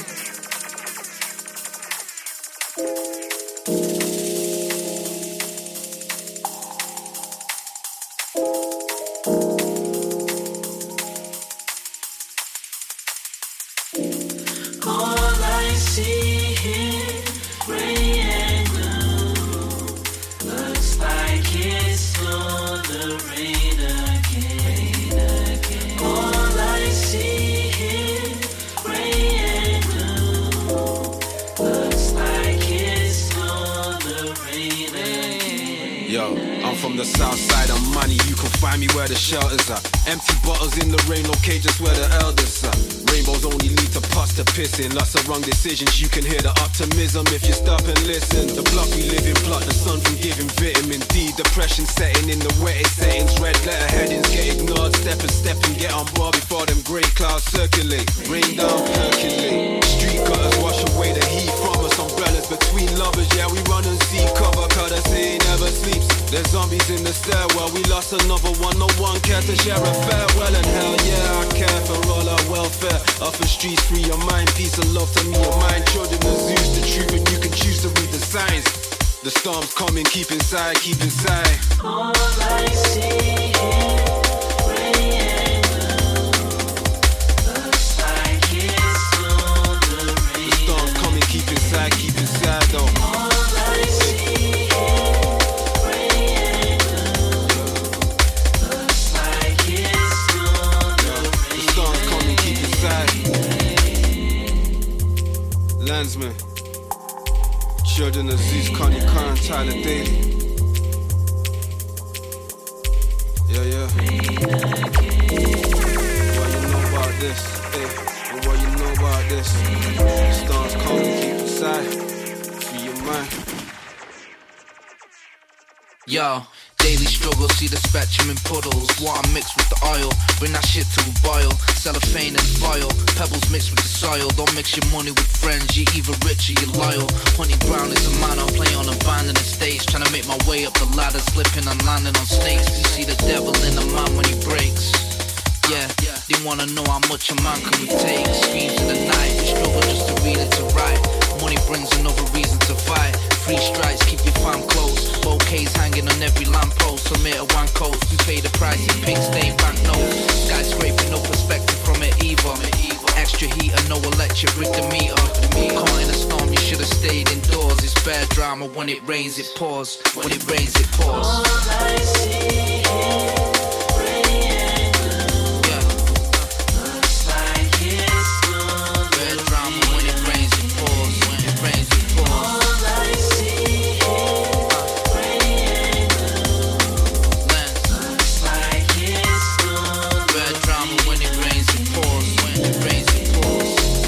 G: All I see here, gray and blue, looks like it's gonna rain again. All I see here, gray and blue, looks like it's gonna rain again.
H: Yo, I'm from the south side of money, you can find me where the shelters are. Empty bottles in the rain, no cages where the elders are. Rainbows only lead to pus to pissing. Lots of wrong decisions, you can hear the optimism if you stop and listen. The block we live in, block the sun from giving vitamin D. Depression setting in the wettest settings. Red letter headings get ignored. Step and step and get on board before them grey clouds circulate. Rain down, percolate. Street gutters wash away the heat from us. Umbrellas between lovers, yeah we run and see cover. Cause they say he never sleeps. There's zombies in the stairwell. We lost another one, no one cared to share a farewell. And hell yeah, I care for all our welfare. Off the streets, free your mind. Peace and love to me and mine. Children of Zeus, the truth, and you can choose to read the signs. The storm's coming, keep inside, keep inside.
G: All I see here, gray and blue, looks like it's gonna rain.
H: The storm's coming, keep inside, keep inside though.
G: All I see here, gray and blue, looks like it's gonna rain.
H: The storm's coming, keep inside. Landsman, children of Zeus, Connie Khan, Tyler Daly. Yeah, yeah. What you know about this? Hey, and what you know about this? The storms coming, keep inside. Free your mind.
X: Yo, daily struggle, see the spectrum in puddles. Water mixed with the oil, bring that shit to a boil. Cellophane and foil, pebbles mixed with the soil. Don't mix your money with friends, you're either rich or you're loyal. Honey Brown is a man, I play on abandoned estates. Trying to make my way up the ladder, slipping and landing on snakes. You see the devil in a man when he breaks. Yeah, they wanna know how much a man can we take. Screams in the night, we struggle just to read it to write. Money brings another reason to fight. Free strikes, keep your fam close. Bouquets hanging on every lamppost. Submit a one coast, we pay the price in pink stained banknotes. Skyscraping, no perspective from it either. Extra heat and no electric, rig the meter. Caught in a storm, you should've stayed indoors. It's bad drama, when it rains it pours. When it rains it pours.
G: All I see here, gray and blue, yeah. Looks like it's gonna
X: bad drama, when it rains it pours. When it rains it pours.
G: All I see here, gray and blue, looks like it's gonna
X: bad drama, when it rains it pours. When it rains it pours.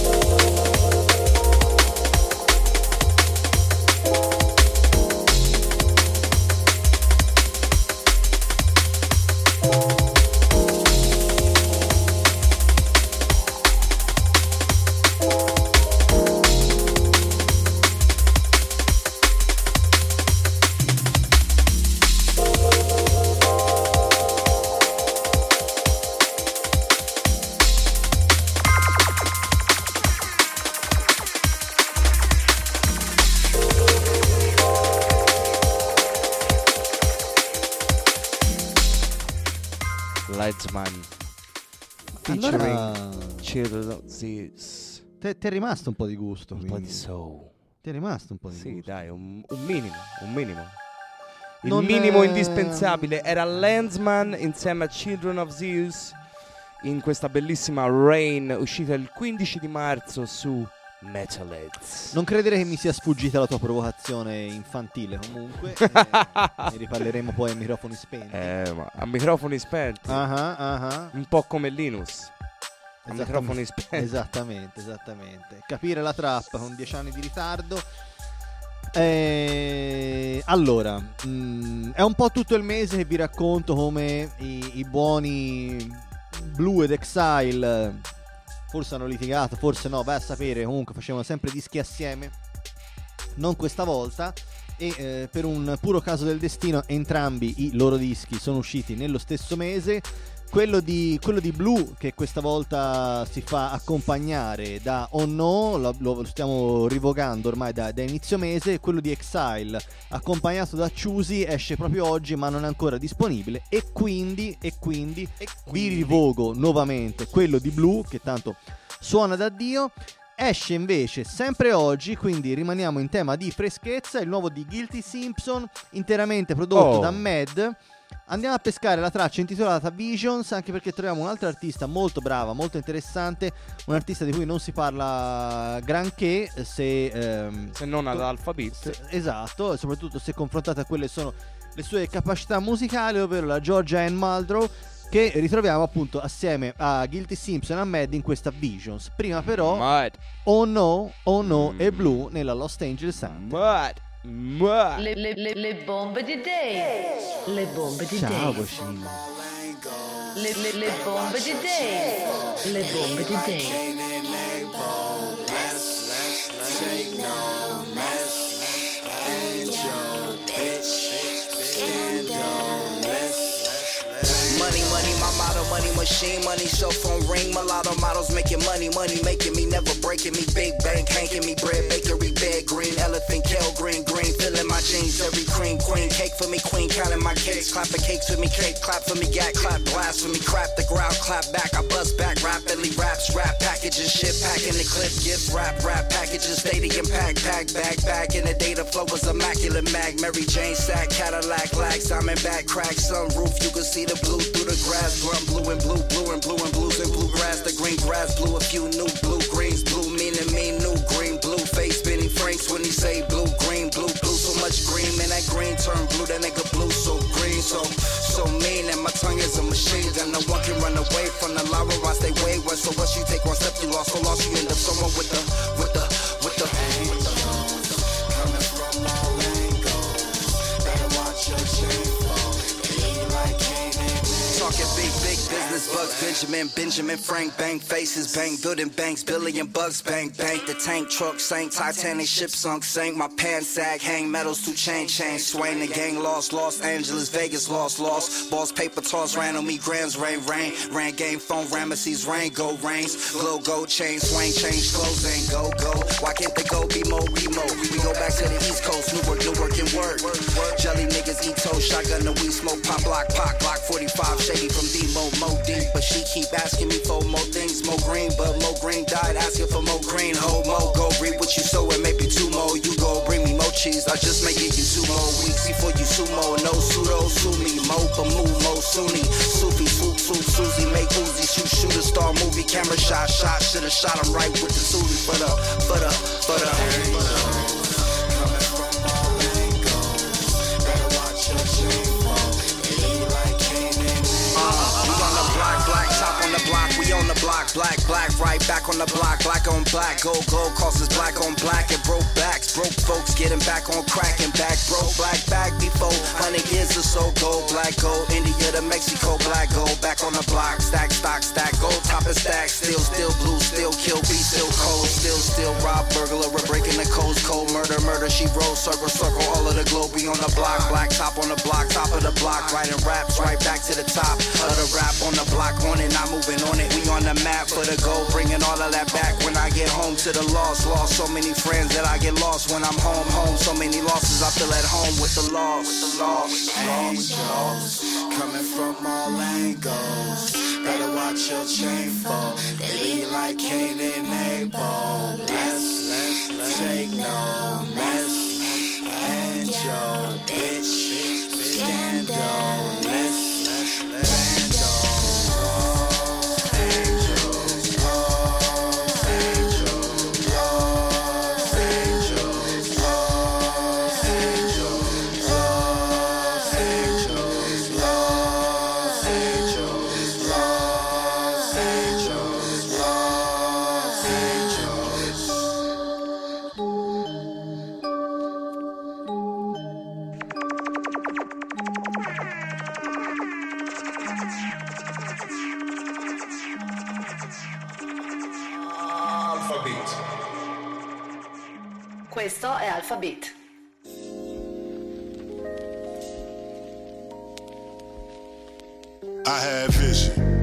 E: Ledsman
D: Allora-
E: featuring Children of Zeus.
D: Ti è rimasto un po' di gusto.
E: Un po' di soul.
D: Ti è rimasto un po' di
E: Sì,
D: gusto.
E: dai, un, un minimo, un minimo. Il
D: Non
E: minimo
D: è-
E: indispensabile era Landsman insieme a Children of Zeus in questa bellissima Rain uscita il quindici di marzo su Metalheads.
D: Non credere che mi sia sfuggita la tua provocazione infantile, comunque. eh, ne riparleremo poi a microfoni spenti.
E: Eh, ma a microfoni spenti.
D: Ah, ah, ah.
E: Un po' come Linus. A
D: Esattamente.
E: microfoni spenti.
D: Esattamente, esattamente. Capire la trap con dieci anni di ritardo. Eh, allora, mh, è un po' tutto il mese che vi racconto come i, i buoni Blue ed Exile forse hanno litigato, forse no, vai a sapere, comunque facevano sempre dischi assieme. Non questa volta. E eh, per un puro caso del destino entrambi i loro dischi sono usciti nello stesso mese, quello di, quello di Blue, che questa volta si fa accompagnare da Oh No, lo, lo stiamo rivocando ormai da, da inizio mese. Quello di Exile accompagnato da Choosy esce proprio oggi ma non è ancora disponibile, e quindi, e quindi, e quindi vi rivoco nuovamente quello di Blue, che tanto suona da Dio. Esce invece sempre oggi, quindi rimaniamo in tema di freschezza, il nuovo di Guilty Simpson, interamente prodotto
E: Oh.
D: da Mad. Andiamo a pescare la traccia intitolata Visions, anche perché troviamo un'altra artista molto brava, molto interessante, un artista di cui non si parla granché se, ehm,
E: se non ad Alphabet.
D: se, esatto, soprattutto se confrontate a quelle sono le sue capacità musicali, ovvero la Georgia Ann Muldrow, che ritroviamo appunto assieme a Guilty Simpson e a Mad in questa Visions. Prima però
E: Mad.
D: Oh No, Oh No e Blue nella Los Angeles Sound.
E: Mad. Mad.
B: Le, le, le, le bombe di Dave. Le bombe di
D: Ciao
B: Dave.
D: Coscino.
B: Le, le, le bombe di Dave. Le bombe di Dave.
F: Money, money, my motto, money machine, money, cell phone ring, mulatto models making money, money making me, never breaking me, big bank, hanking me, bread, bakery, bed, green, elephant, kale, green, green, filling my jeans, every cream, queen, cake for me, queen, counting my cakes, clapping cakes for me, cake, clap for me, gat, clap, blast for me, crap the ground, clap back, I bust back, rapidly, raps, rap, packages, shit, packing the clip, gift, rap, rap, packages, stadium, pack, pack, bag, back, in the data flow was immaculate, mag, Mary Jane, sack, Cadillac, lag, Simon back, crack, sunroof, you can see the blue through the grass, drum, blue and blue, blue and blue and blues and blue grass, the green grass, blue, a few new blue greens, blue meaning me, new green, blue face, Benny Franks when he say blue, green, blue, blue, so much green, man, that green turn blue, that nigga blue, so green, so, so mean, and my tongue is a machine, and no one can run away from the lava, I stay wayward, so once you take one step, you lost, so lost, you end up somewhere with the, with the, with the, with the, coming from all angles, better watch your chain fall, be like talking big, big business, Bugs, Benjamin, Benjamin, Frank, bang, faces, bang, building banks, billion bucks, bang, bank, the tank truck sank, Titanic ship sunk, sank, my pants sag, hang metals to chain, chain, swing, the gang lost, Los Angeles, Vegas lost, lost, balls, paper toss, ran on me, grams, rain, rain, ran game, phone, Ramesses, rain, go, rains, glow, go, chain, swing, change, clothes, ain't go, go, why can't they go, be more, be more, we go back to the East Coast, new work, new work, and work, jelly niggas eat toast, shotgun, the weed smoke, pop, block, pop, block, forty-five, shady from D-Mo, Mo deep, but she keep asking me for more things, more green, but Mo Green died asking for more green, ho, Mo, go read what you sow and maybe two more, you go bring me more cheese, I just may give you two more weeks before you sumo, no pseudo, sue me, Mo, Bamu, Mo, Sunni, Sufi, Swoop, Swoop, Susie, make Uzi, shoot, shoot a star movie, camera shot, shot, should've shot him right with the Susie, for the, for the, for the, for the. On the block, black, black, right back on the block, black on black, gold, gold, causes black on black, and broke backs, broke folks getting back on crack and back, broke black back before, hundred years or so, gold, black, gold, India to Mexico, black, gold, back on the block, stack, stock, stack, gold, top and stack, still, still blue, still kill, be still cold, still, still rob, burglar, we're breaking the codes, cold, murder, murder, she rolls, circle, circle, all of the globe, we on the block, black, top on the block, top of the block, writing raps, right back to the top of the rap on the block, on it, not moving on it, we on the map for the goal, bringing all of that back when I get home to the loss. Lost so many friends that I get lost when I'm home. Home, so many losses I feel at home with the loss. With the loss. Angels coming from all angles. Better watch your chain fall. They be like Cain and Abel. Let's, let's, let's take no mess. Angel, bitch, scandal. Let's, let's, let's.
B: Questo è Alphabet.
J: I had vision.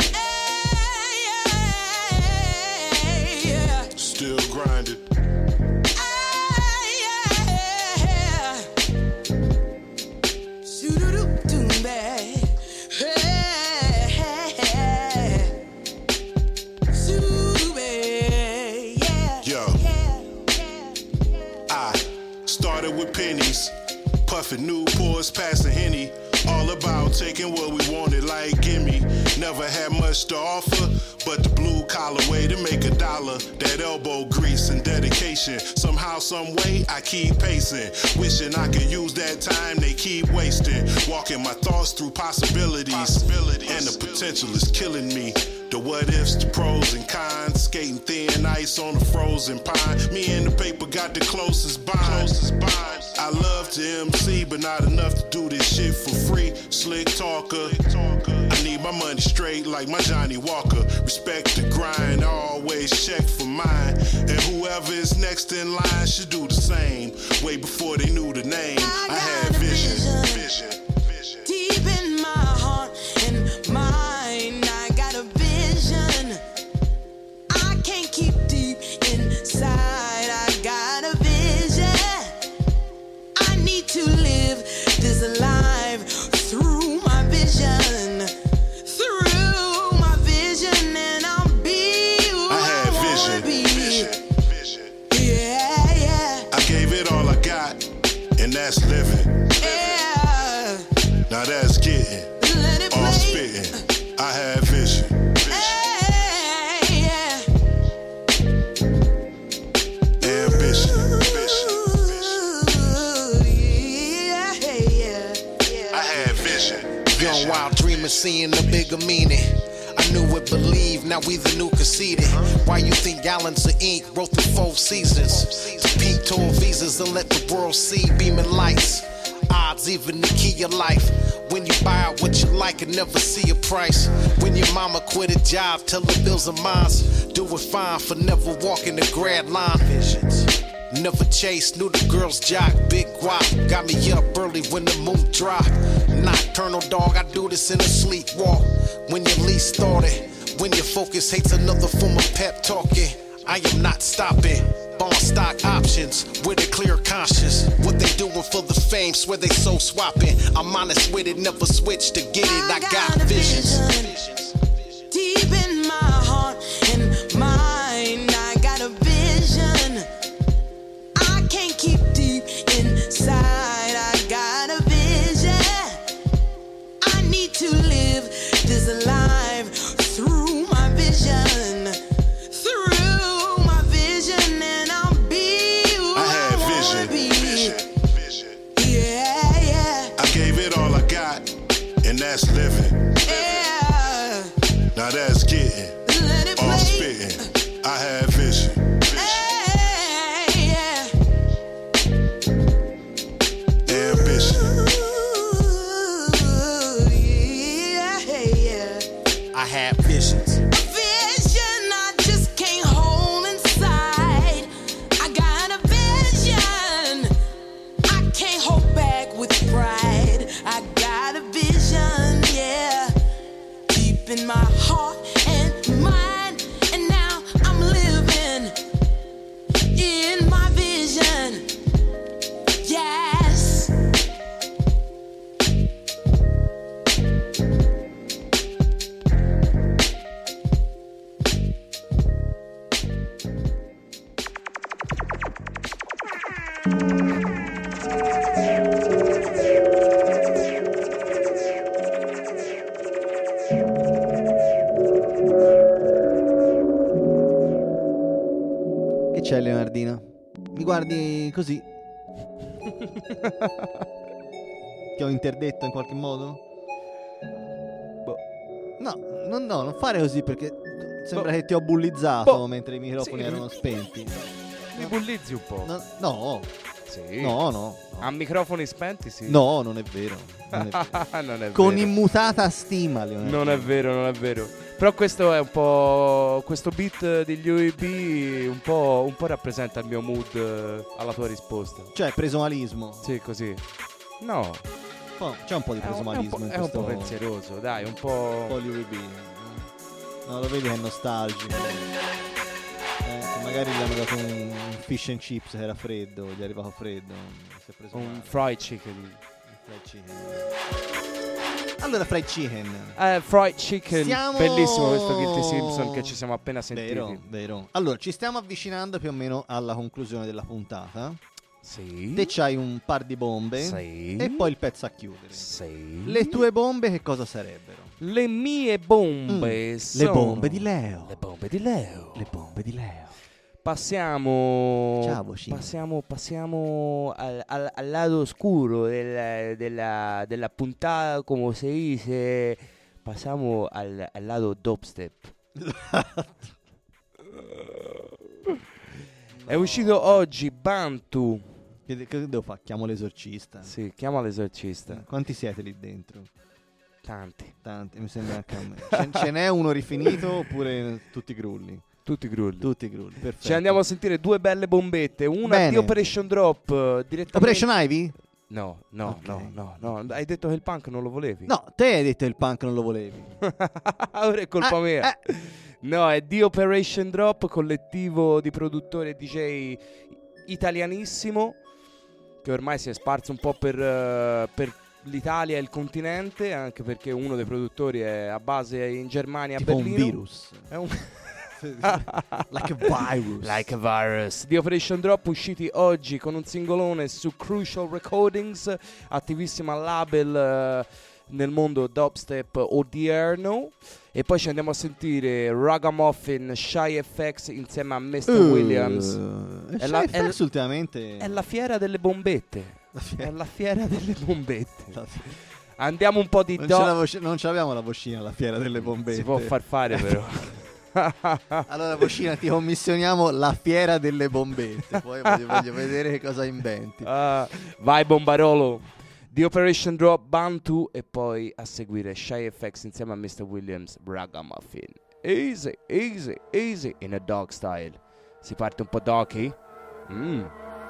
J: started with pennies. Puffin' Newports, passing Henny. All about taking what we wanted, like gimme. Never had much to offer, but the blue collar way to make a dollar. That elbow grease and dedication. Somehow, some way, I keep pacing. Wishing I could use that time, they keep wasting. Walking my thoughts through possibilities. possibilities. And the potential is killing me. The what ifs, the pros and cons. Skating thin ice on a frozen pond. Me and the paper got the closest bond. Closest bond. I love to M C, but not enough to do this shit for free. Slick talker. I need my money straight like my Johnny Walker. Respect the grind, always check for mine. And whoever is next in line should do the same. Way before they knew the name, I, I had vision. Vision. Vision.
K: Deep in my heart and mind, I got a vision. I can't keep deep inside. I got a vision. I need to live this life through my vision. Through my vision, and I'll be who I, I
J: had
K: wanna
J: vision.
K: be.
J: Vision. Vision.
K: Yeah, yeah.
J: I gave it all I got, and that's living.
K: Yeah.
J: Now that's getting
K: Let it
J: all
K: play.
J: spitting. I had vision.
K: Hey, yeah.
J: Ambition.
K: Yeah, yeah.
J: I had vision.
L: Young wild dreamer seeing the bigger meaning. I knew it, believe, now we the new conceited. Why you think gallons of ink wrote through four seasons? To peak tour visas and let the world see beaming lights. Odds even the key of life. When you buy out what you like and never see a price. When your mama quit a job, tell her bills are mine. Do it fine for never walking the grad line. Visions. Never chased, knew the girls jock, big guap. Got me up early when the moon drop. Nocturnal dog, I do this in a sleepwalk. When you least thought it, when your focus hates another form of pep talking. I am not stopping. Bond stock options with a clear conscience. What they doing for the fame, swear they so swapping. I'm honest with it, never switch to get it. I got visions.
K: Deep in my heart and mind, I got a vision. I can't keep deep inside. I got a vision. I need to live this life through my vision. Through my vision, and I'll be who I,
J: I had
K: wanna
J: vision.
K: be.
J: Vision.
K: Yeah, yeah.
J: I gave it all I got, and that's living.
K: Yeah.
J: Now that's getting
K: Let it
J: all
K: play.
J: spitting. I had vision.
K: Hey, yeah.
J: Ambition.
K: Yeah, yeah.
L: I had visions.
K: Vision I just can't hold inside. I got a vision I can't hold back with pride. I got a vision, yeah, deep in my heart and mind. And now I'm living in my vision. Yes.
D: Che c'è, Leonardino? Mi guardi così? Ti ho interdetto in qualche modo?
E: Boh.
D: No, no, no, non fare così perché sembra
E: Boh.
D: che ti ho bullizzato
E: Boh.
D: mentre i microfoni
E: Sì.
D: erano spenti.
E: Mi bullizzi un po'.
D: No, no.
E: Sì.
D: No, no.
E: A microfoni spenti, sì.
D: No, non è vero. Non è vero.
E: Non è
D: Con
E: vero.
D: immutata stima, Leonardino.
E: Non è vero, non è vero. Però questo è un po'. Questo beat degli U E B un po', un po' rappresenta il mio mood eh, alla tua risposta.
D: Cioè, presumalismo.
E: Sì, così. No.
D: Oh, c'è un po' di
E: È un-
D: presumalismo
E: è un
D: in
E: po', è un
D: questo.
E: po' pensieroso, dai, un po'.
D: Un po' di U E B. No, lo vedi che è nostalgico. Eh, che magari gli hanno dato un, un fish and chips che era freddo, gli è arrivato freddo. Si è preso
E: Un
D: male.
E: fried chicken.
D: Un fried chicken. Allora, fried chicken.
E: Eh, fried chicken.
D: Siamo-
E: Bellissimo questo Guilty Simpson che ci siamo appena sentiti.
D: Vero, vero. Allora, ci stiamo avvicinando più o meno alla conclusione della puntata.
E: Sì.
D: Te c'hai un par di bombe.
E: Sì.
D: E poi il pezzo a chiudere.
E: Sì.
D: Le tue bombe che cosa sarebbero?
E: Le mie bombe
D: Mm,
E: sono...
D: le bombe di Leo.
E: Le bombe di Leo.
D: Le bombe di Leo.
E: Passiamo...
D: Ciao, Bocino.
E: Passiamo, passiamo al, al- al lato oscuro del- della, della puntata, come si dice. Passiamo al, al lato dubstep. È uscito oggi Bantu.
D: Che, de- che devo fare? Chiamo l'esorcista.
E: Sì, chiama l'esorcista.
D: Quanti siete lì dentro?
E: Tanti.
D: Tanti, mi sembra anche a me. Ce, ce n'è uno rifinito oppure tutti grulli?
E: Tutti grulli.
D: Tutti grulli, perfetto.
E: Ci andiamo a sentire due belle bombette. Una
D: Bene.
E: di Operation Drop eh, direttamente.
D: Operation Ivy?
E: No, no,
D: Ok.
E: no, no, no. Hai detto che il punk non lo volevi?
D: No, te hai detto il punk non lo volevi.
E: Ora è colpa
D: Eh,
E: mia.
D: eh.
E: No, è di Operation Drop, collettivo di produttori e D J italianissimo, che ormai si è sparso un po' per, eh, per l'Italia e il continente, anche perché uno dei produttori è a base in Germania, a
D: Tipo un
E: Berlino.
D: virus.
E: È un...
D: Like a virus.
E: Like a virus. Di Operation Drop, usciti oggi con un singolone su Crucial Recordings, attivissima label eh, nel mondo dubstep odierno. E poi ci andiamo a sentire Ragamuffin, Shy F X insieme a mister
D: Uh,
E: Williams.
D: e
E: È la,
D: Shy
E: è,
D: F X ultimamente
E: è la fiera delle bombette.
D: La fiera-
E: È la fiera delle bombette.
D: La fi-
E: Andiamo un po' di
D: non,
E: dub-
D: ce la voce- non ce l'abbiamo la vocina alla fiera delle bombette.
E: Si può far fare però.
D: Allora vocina, ti commissioniamo la fiera delle bombette. Poi voglio, voglio vedere che cosa inventi.
E: Ah, vai Bombarolo. Di Operation Drop, Bantu e poi a seguire Shy F X insieme a mister Williams, Ragamuffin. Easy, easy, easy in a dog style. Si parte un po' doggy. Mm.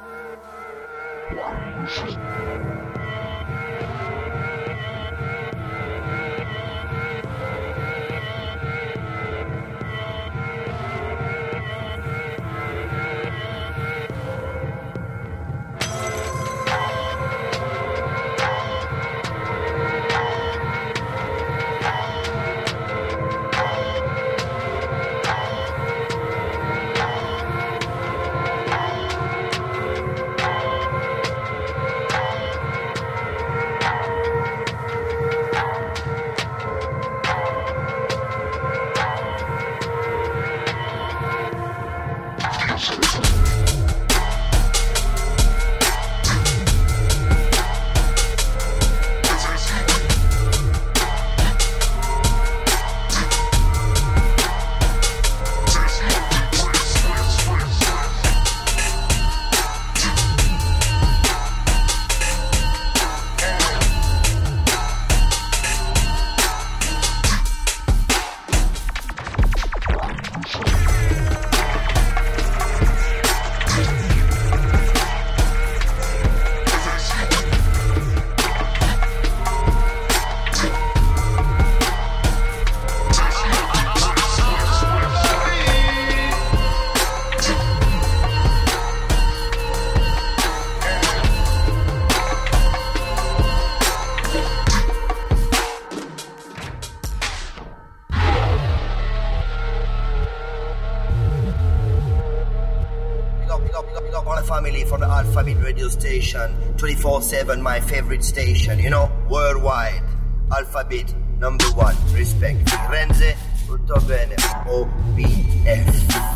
V: Family from the Alphabet radio station, twenty-four seven, my favorite station, you know, worldwide. Alphabet number one, respect. Renze, tutto bene, O B F.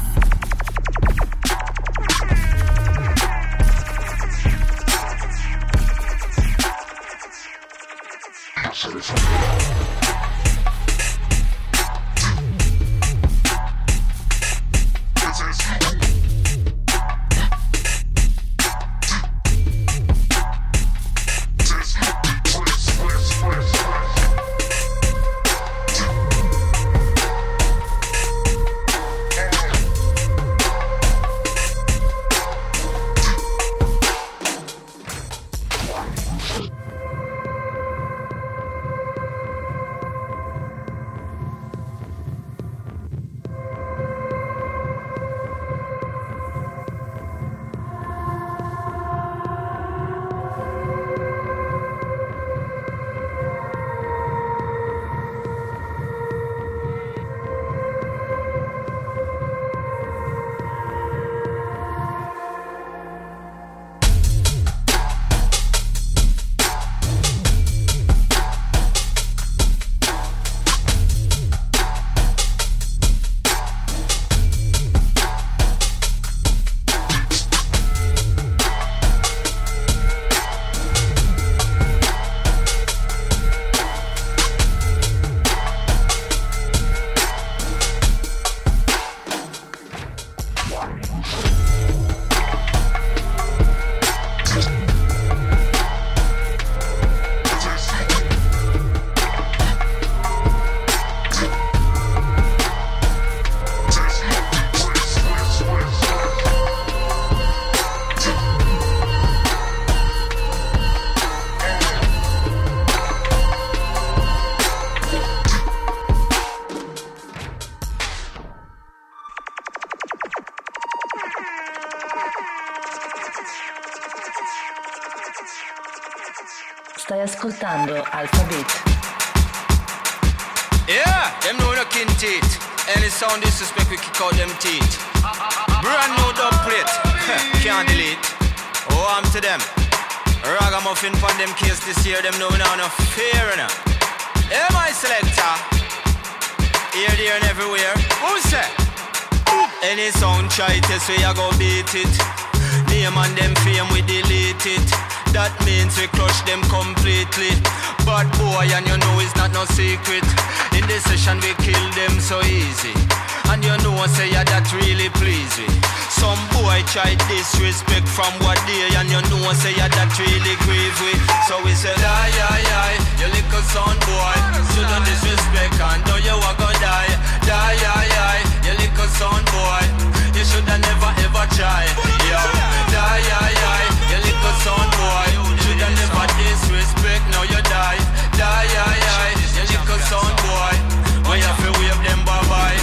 B: Stai ascoltando Alphabet.
M: Yeah, them know no kin teeth. Any sound disrespect, we kick out them teeth. Brand new dub plate, can't delete. Oh, I'm to them. Ragamuffin pon them case this year, them know we now no fear enough. Hey, my selector. Here, there, and everywhere. Who say? Any sound try test, we a go beat it. Name and them fame, we delete it. That means we crush them completely. Bad boy, and you know it's not no secret. In this session we kill them so easy. And you know say yeah, that really please me. Some boy try disrespect from what day. And you know say yeah, that really grieve we. So we say die, die, die. You little son boy, shouldn't disrespect and know you are gonna die. Die, die, die. You little son boy, you shoulda never ever try. Yo, die, die, die. You little son boy, shoulda never disrespect. Now you die, die, die, die. You little son boy, when you feel wave them bye bye.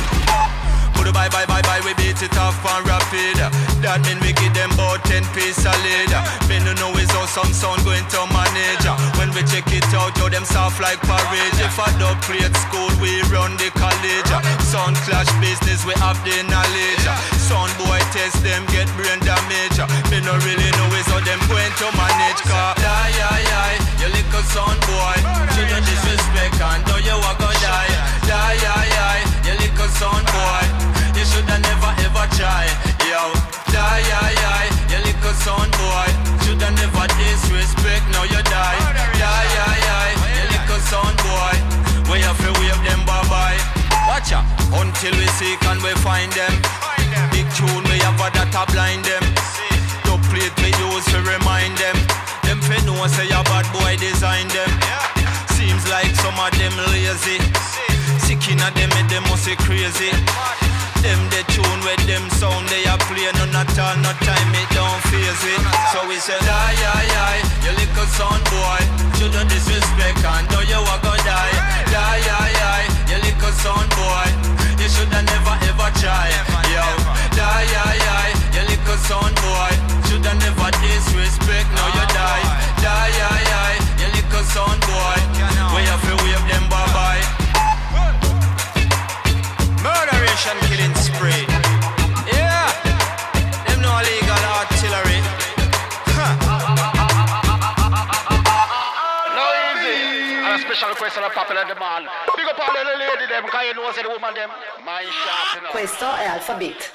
M: Put a bye bye bye bye, we beat it off and rapid. That mean we give them about ten piece solid. Men who know is how some sound going to manage. When we check it out, yo them soft like porridge. If I don't play at school, we run the college. Sound clash business, we have the knowledge. Sound boy test them, get brain damage. Me no really know is how them going to manage. Cause die, die, die, you little sound boy. Shouldn't disrespect and know you are gonna die. Die, die, die, you little sound boy. You shoulda never ever try. Yo, die, die, die, you little son boy. Shoulda never disrespect, now you die. Die, die, die, you little son boy. We have to wave them bye bye. Watch out, until we seek and we find them. Big tune we have a data blind them. Dub plate we use to remind them. Them fi know say a bad boy design them. Seems like some of them lazy. Sick inna them, and them must be crazy. Them the tune with them sound they a play. None at all, no time it don't phase it. So we say die, die, die, you little son boy. Shouldn't disrespect and know you a go die. Die, die, die, you little son boy. You shoulda never ever try. Yo, die, die, die, you little son boy. Shoulda never disrespect, now you die. Die, die, die, you little son boy. We have to wave them bye bye. Murderation killing spree. Yeah, them no illegal artillery. Huh.
N: No easy. And a special request on a popular demand. Big up all the lady them, cause you know say the woman them. Mind sharp, you know.
B: Questo è Alphabet.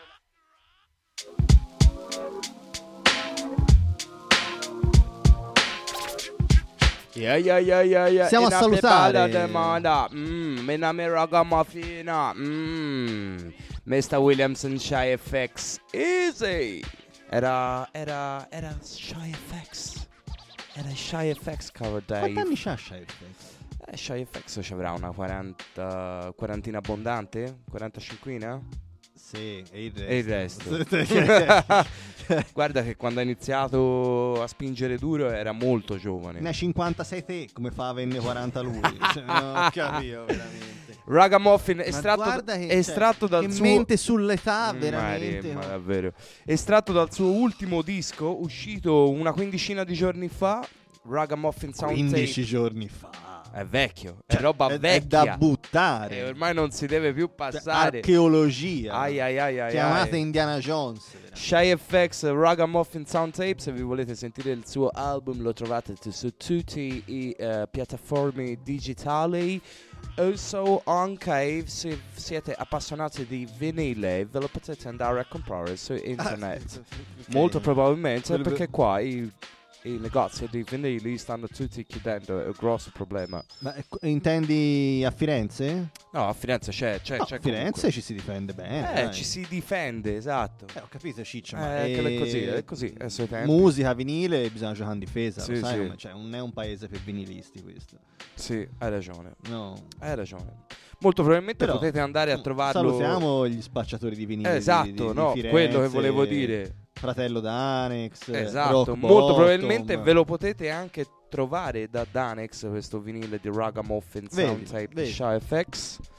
E: Yeah, yeah, yeah, yeah, yeah.
D: Siamo a salutare.
E: Mmm, Mename Ragamuffina. Mmm, mister Williamson Shy F X. Easy. Era, era, era Shy F X. Era Shy F X, caro Dave.
D: Quanti anni c'ha Shy F X?
E: Eh, Shy F X ci avrà una quaranta, quarantina abbondante? quarantacinquina?
D: Sì, e il
E: E il
D: resto.
E: resto. Guarda che quando ha iniziato a spingere duro era molto giovane.
D: Ne ha cinquantasei te, come fa a averne quaranta lui? Cioè, non ho capito veramente.
E: Ragamuffin
D: Ma
E: estratto,
D: guarda che,
E: estratto
D: cioè,
E: dal
D: che
E: suo
D: mente sull'età,
E: Mm,
D: veramente.
E: Ma,
D: no?
E: ma davvero. Estratto dal suo ultimo disco uscito una quindicina di giorni fa, Ragamuffin Sound
D: quindici
E: Tape.
D: giorni fa.
E: È vecchio,
D: Cioè,
E: è roba
D: è- è
E: vecchia.
D: da buttare.
E: E ormai non si deve più passare.
D: Archeologia.
E: Ai ai ai ai
D: Chiamate
E: ai.
D: Indiana Jones.
E: Shy F X Ragamuffin Sound Tape. Se vi volete sentire il suo album lo trovate t- su tutte le uh, piattaforme digitali. Also anche se siete appassionati di vinile ve lo potete andare a comprare su internet.
D: Ok.
E: Molto probabilmente
D: Quello-
E: perché qua i, i negozi di vinili stanno tutti chiudendo. È un grosso problema.
D: Ma eh, intendi a Firenze?
E: No, a Firenze c'è, c'è,
D: No,
E: c'è
D: a Firenze
E: comunque.
D: ci si difende bene.
E: Eh,
D: dai.
E: ci si difende, esatto.
D: Eh, ho capito, Ciccio, ma
E: Eh, che è così,
D: eh,
E: è così, è sui tempi.
D: musica, vinile, bisogna giocare in difesa,
E: Sì,
D: lo sai
E: sì.
D: come- cioè, non è un paese per vinilisti questo.
E: Sì, hai ragione.
D: No.
E: Hai ragione. Molto probabilmente
D: Però,
E: potete andare a trovarlo.
D: Salutiamo gli spacciatori di vinile
E: Eh,
D: di-
E: esatto,
D: di, di
E: no,
D: Firenze,
E: quello che volevo dire.
D: Fratello Danex,
E: Esatto,
D: Rock
E: molto
D: Bottom.
E: probabilmente ve lo potete anche trovare da Danex questo vinile di Ragamuffin
D: Vedi,
E: Sound Tape
D: vedi.
E: Shy F X.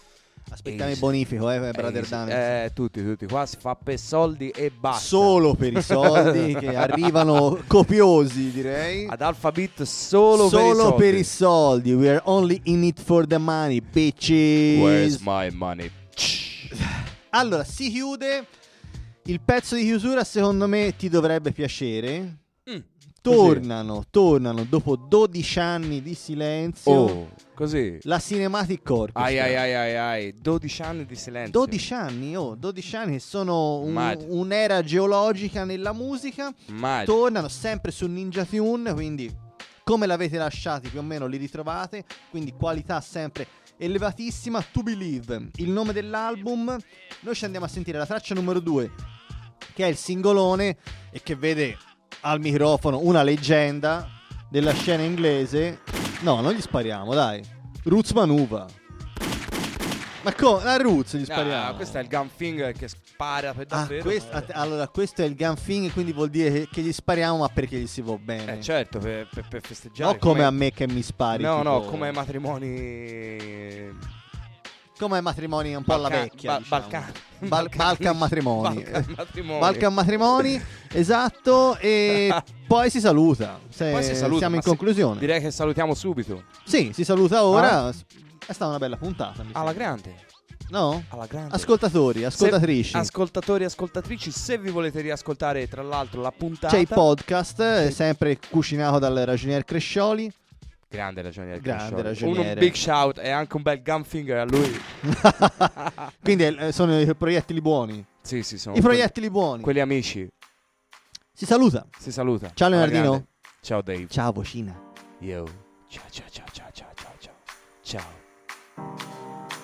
D: Aspettiamo il
E: Easy.
D: bonifico, eh, Brother
E: Easy.
D: Daniels.
E: Eh, tutti, tutti. Qua si fa per soldi e basta.
D: Solo per i soldi che arrivano copiosi, direi.
E: Ad Alphabet solo,
D: Solo
E: per
D: per
E: i
D: i soldi. We are only in it for the money, bitches.
E: Where's my money?
D: Allora, si chiude. Il pezzo di chiusura, secondo me, ti dovrebbe piacere.
E: Mm,
D: tornano, tornano dopo dodici anni di silenzio.
E: Oh, così.
D: La Cinematic Orchestra.
E: Ai ai ai ai ai, dodici anni di silenzio.
D: dodici anni, oh, dodici anni che sono un-
E: Mad.
D: un'era geologica nella musica.
E: Mad.
D: Tornano sempre su Ninja Tune, quindi come l'avete lasciati più o meno li ritrovate, quindi qualità sempre elevatissima. To Believe, il nome dell'album. Noi ci andiamo a sentire la traccia numero due, che è il singolone e che vede al microfono una leggenda della scena inglese. No, non gli spariamo, dai. Roots Manuva. Ma come? A Roots gli spariamo.
E: Ah, questo è il Gunfinger che spara per
D: Ah,
E: davvero.
D: quest- att- allora, questo è il gunfing, quindi vuol dire che, che gli spariamo, ma perché gli si va bene.
E: Eh certo, per, per, per festeggiare.
D: No, come a me che mi spari.
E: No,
D: tipo-
E: no, come ai matrimoni.
D: Come ai matrimoni un po' alla
E: Balca-
D: vecchia.
E: ba-
D: diciamo.
E: Balcani.
D: Bal-
E: Balcani.
D: Balcan matrimoni.
E: Balcan matrimoni.
D: Balcan matrimoni, esatto. E poi si saluta. Se
E: Poi si saluta,
D: siamo
E: ma
D: in
E: sì,
D: conclusione.
E: direi che salutiamo subito.
D: Sì, si saluta ora.
E: Ah.
D: È stata una bella puntata. mi
E: Alla
D: sembra.
E: grande.
D: No?
E: Alla grande.
D: Ascoltatori, ascoltatrici.
E: Se- ascoltatori, ascoltatrici, se vi volete riascoltare tra l'altro la puntata.
D: C'è il podcast, eh, sempre cucinato dal ragionier Crescioli.
E: Grande ragioniere.
D: Grande
E: Crescioli.
D: ragioniere.
E: Un big shout e anche un bel gunfinger a lui.
D: Quindi eh, sono i proiettili buoni.
E: Sì, sì, sono
D: I proiettili buoni.
E: quelli amici.
D: Si saluta.
E: Si saluta.
D: Ciao
E: Alla
D: Leonardino.
E: grande. Ciao Dave.
D: Ciao Vocina.
E: Yo. Ciao ciao ciao ciao ciao ciao ciao. Ciao.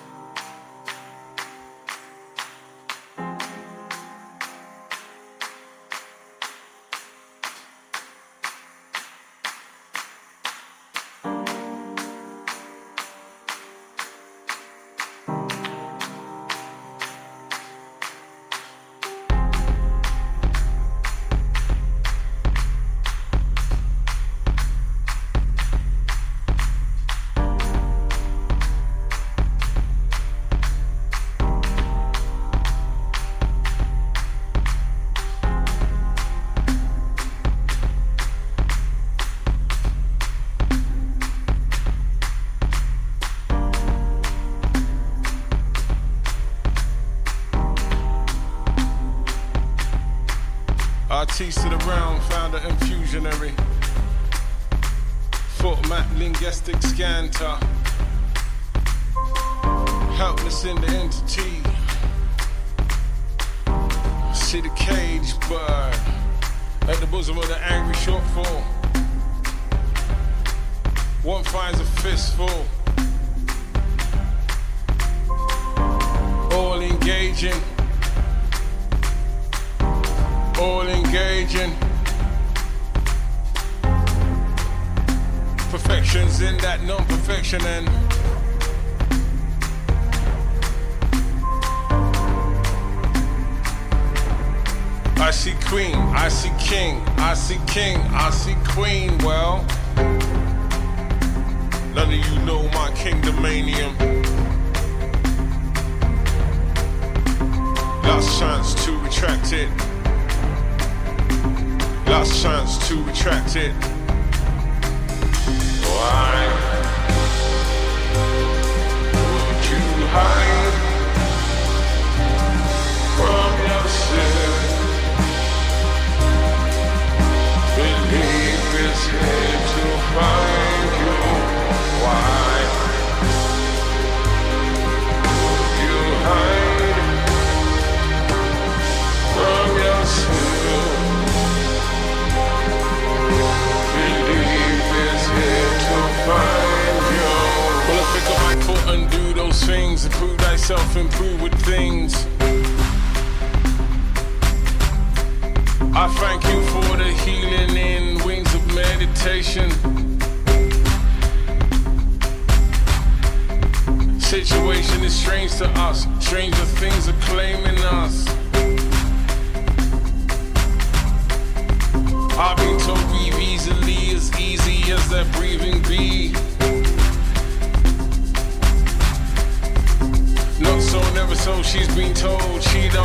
J: Artiste of the realm, founder and fusionary. Foot map, linguistic scanter. Helpless in the entity. See the cage bird at the bosom of the angry shortfall. One finds a fistful. All engaging. All engaging. Perfection's in that non-perfection and I see queen, I see king, I see king, I see queen. Well, none of you know my kingdomanium. Last chance to retract it. Last chance to retract it. Why would you hide from yourself? Believe is here to find you. Why would you hide from yourself? Believe is here to find you. Well, I pick up my foot and do those things. Improve thyself, improve with things. I thank you for the healing in wings of meditation. Situation is strange to us. Stranger things are claiming us. I've been told breathe easily, as easy as that breathing be. No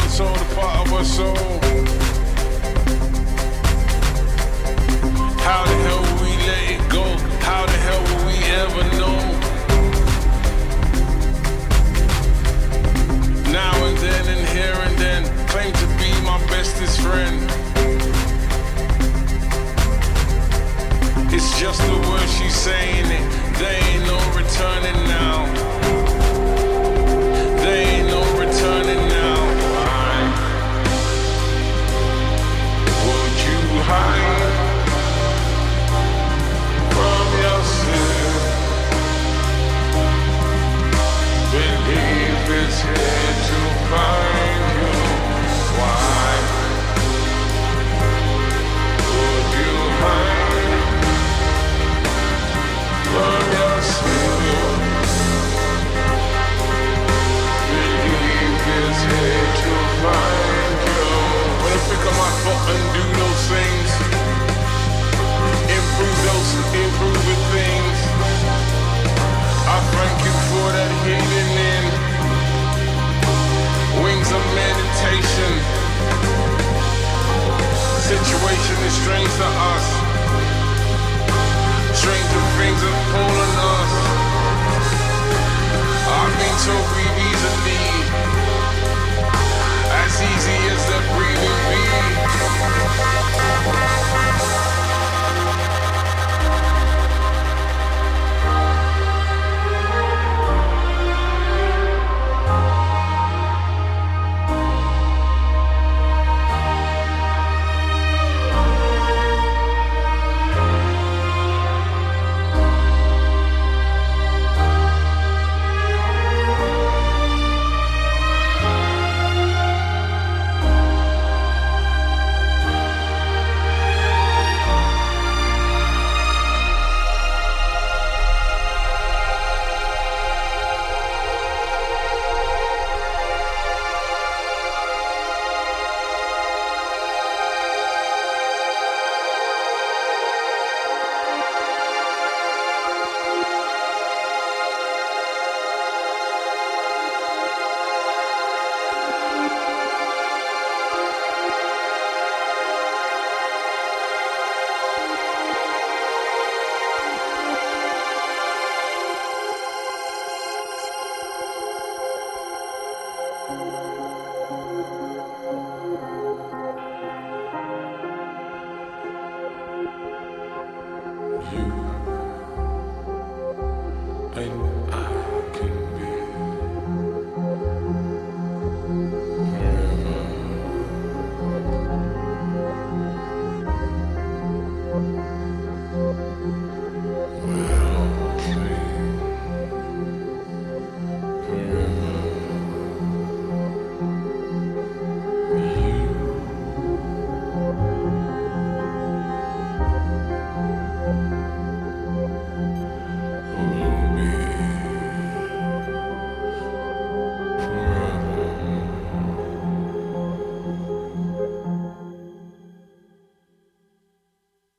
I: and soul, a part of our soul. How the hell will we let it go? How the hell will we ever know? Now and then and here and then, claim to be my bestest friend. It's just the word she's saying it. There ain't no returning now. There ain't no returning now. Why would you hide from yourself? Believe it's here to find you. Why would you hide from yourself? Believe it's here to find you. When I pick up my foot and do those things, improve those improving things, I thank you for that healing in wings of meditation. Situation is strange to us. Stranger things have fallen us. I've been so greedy.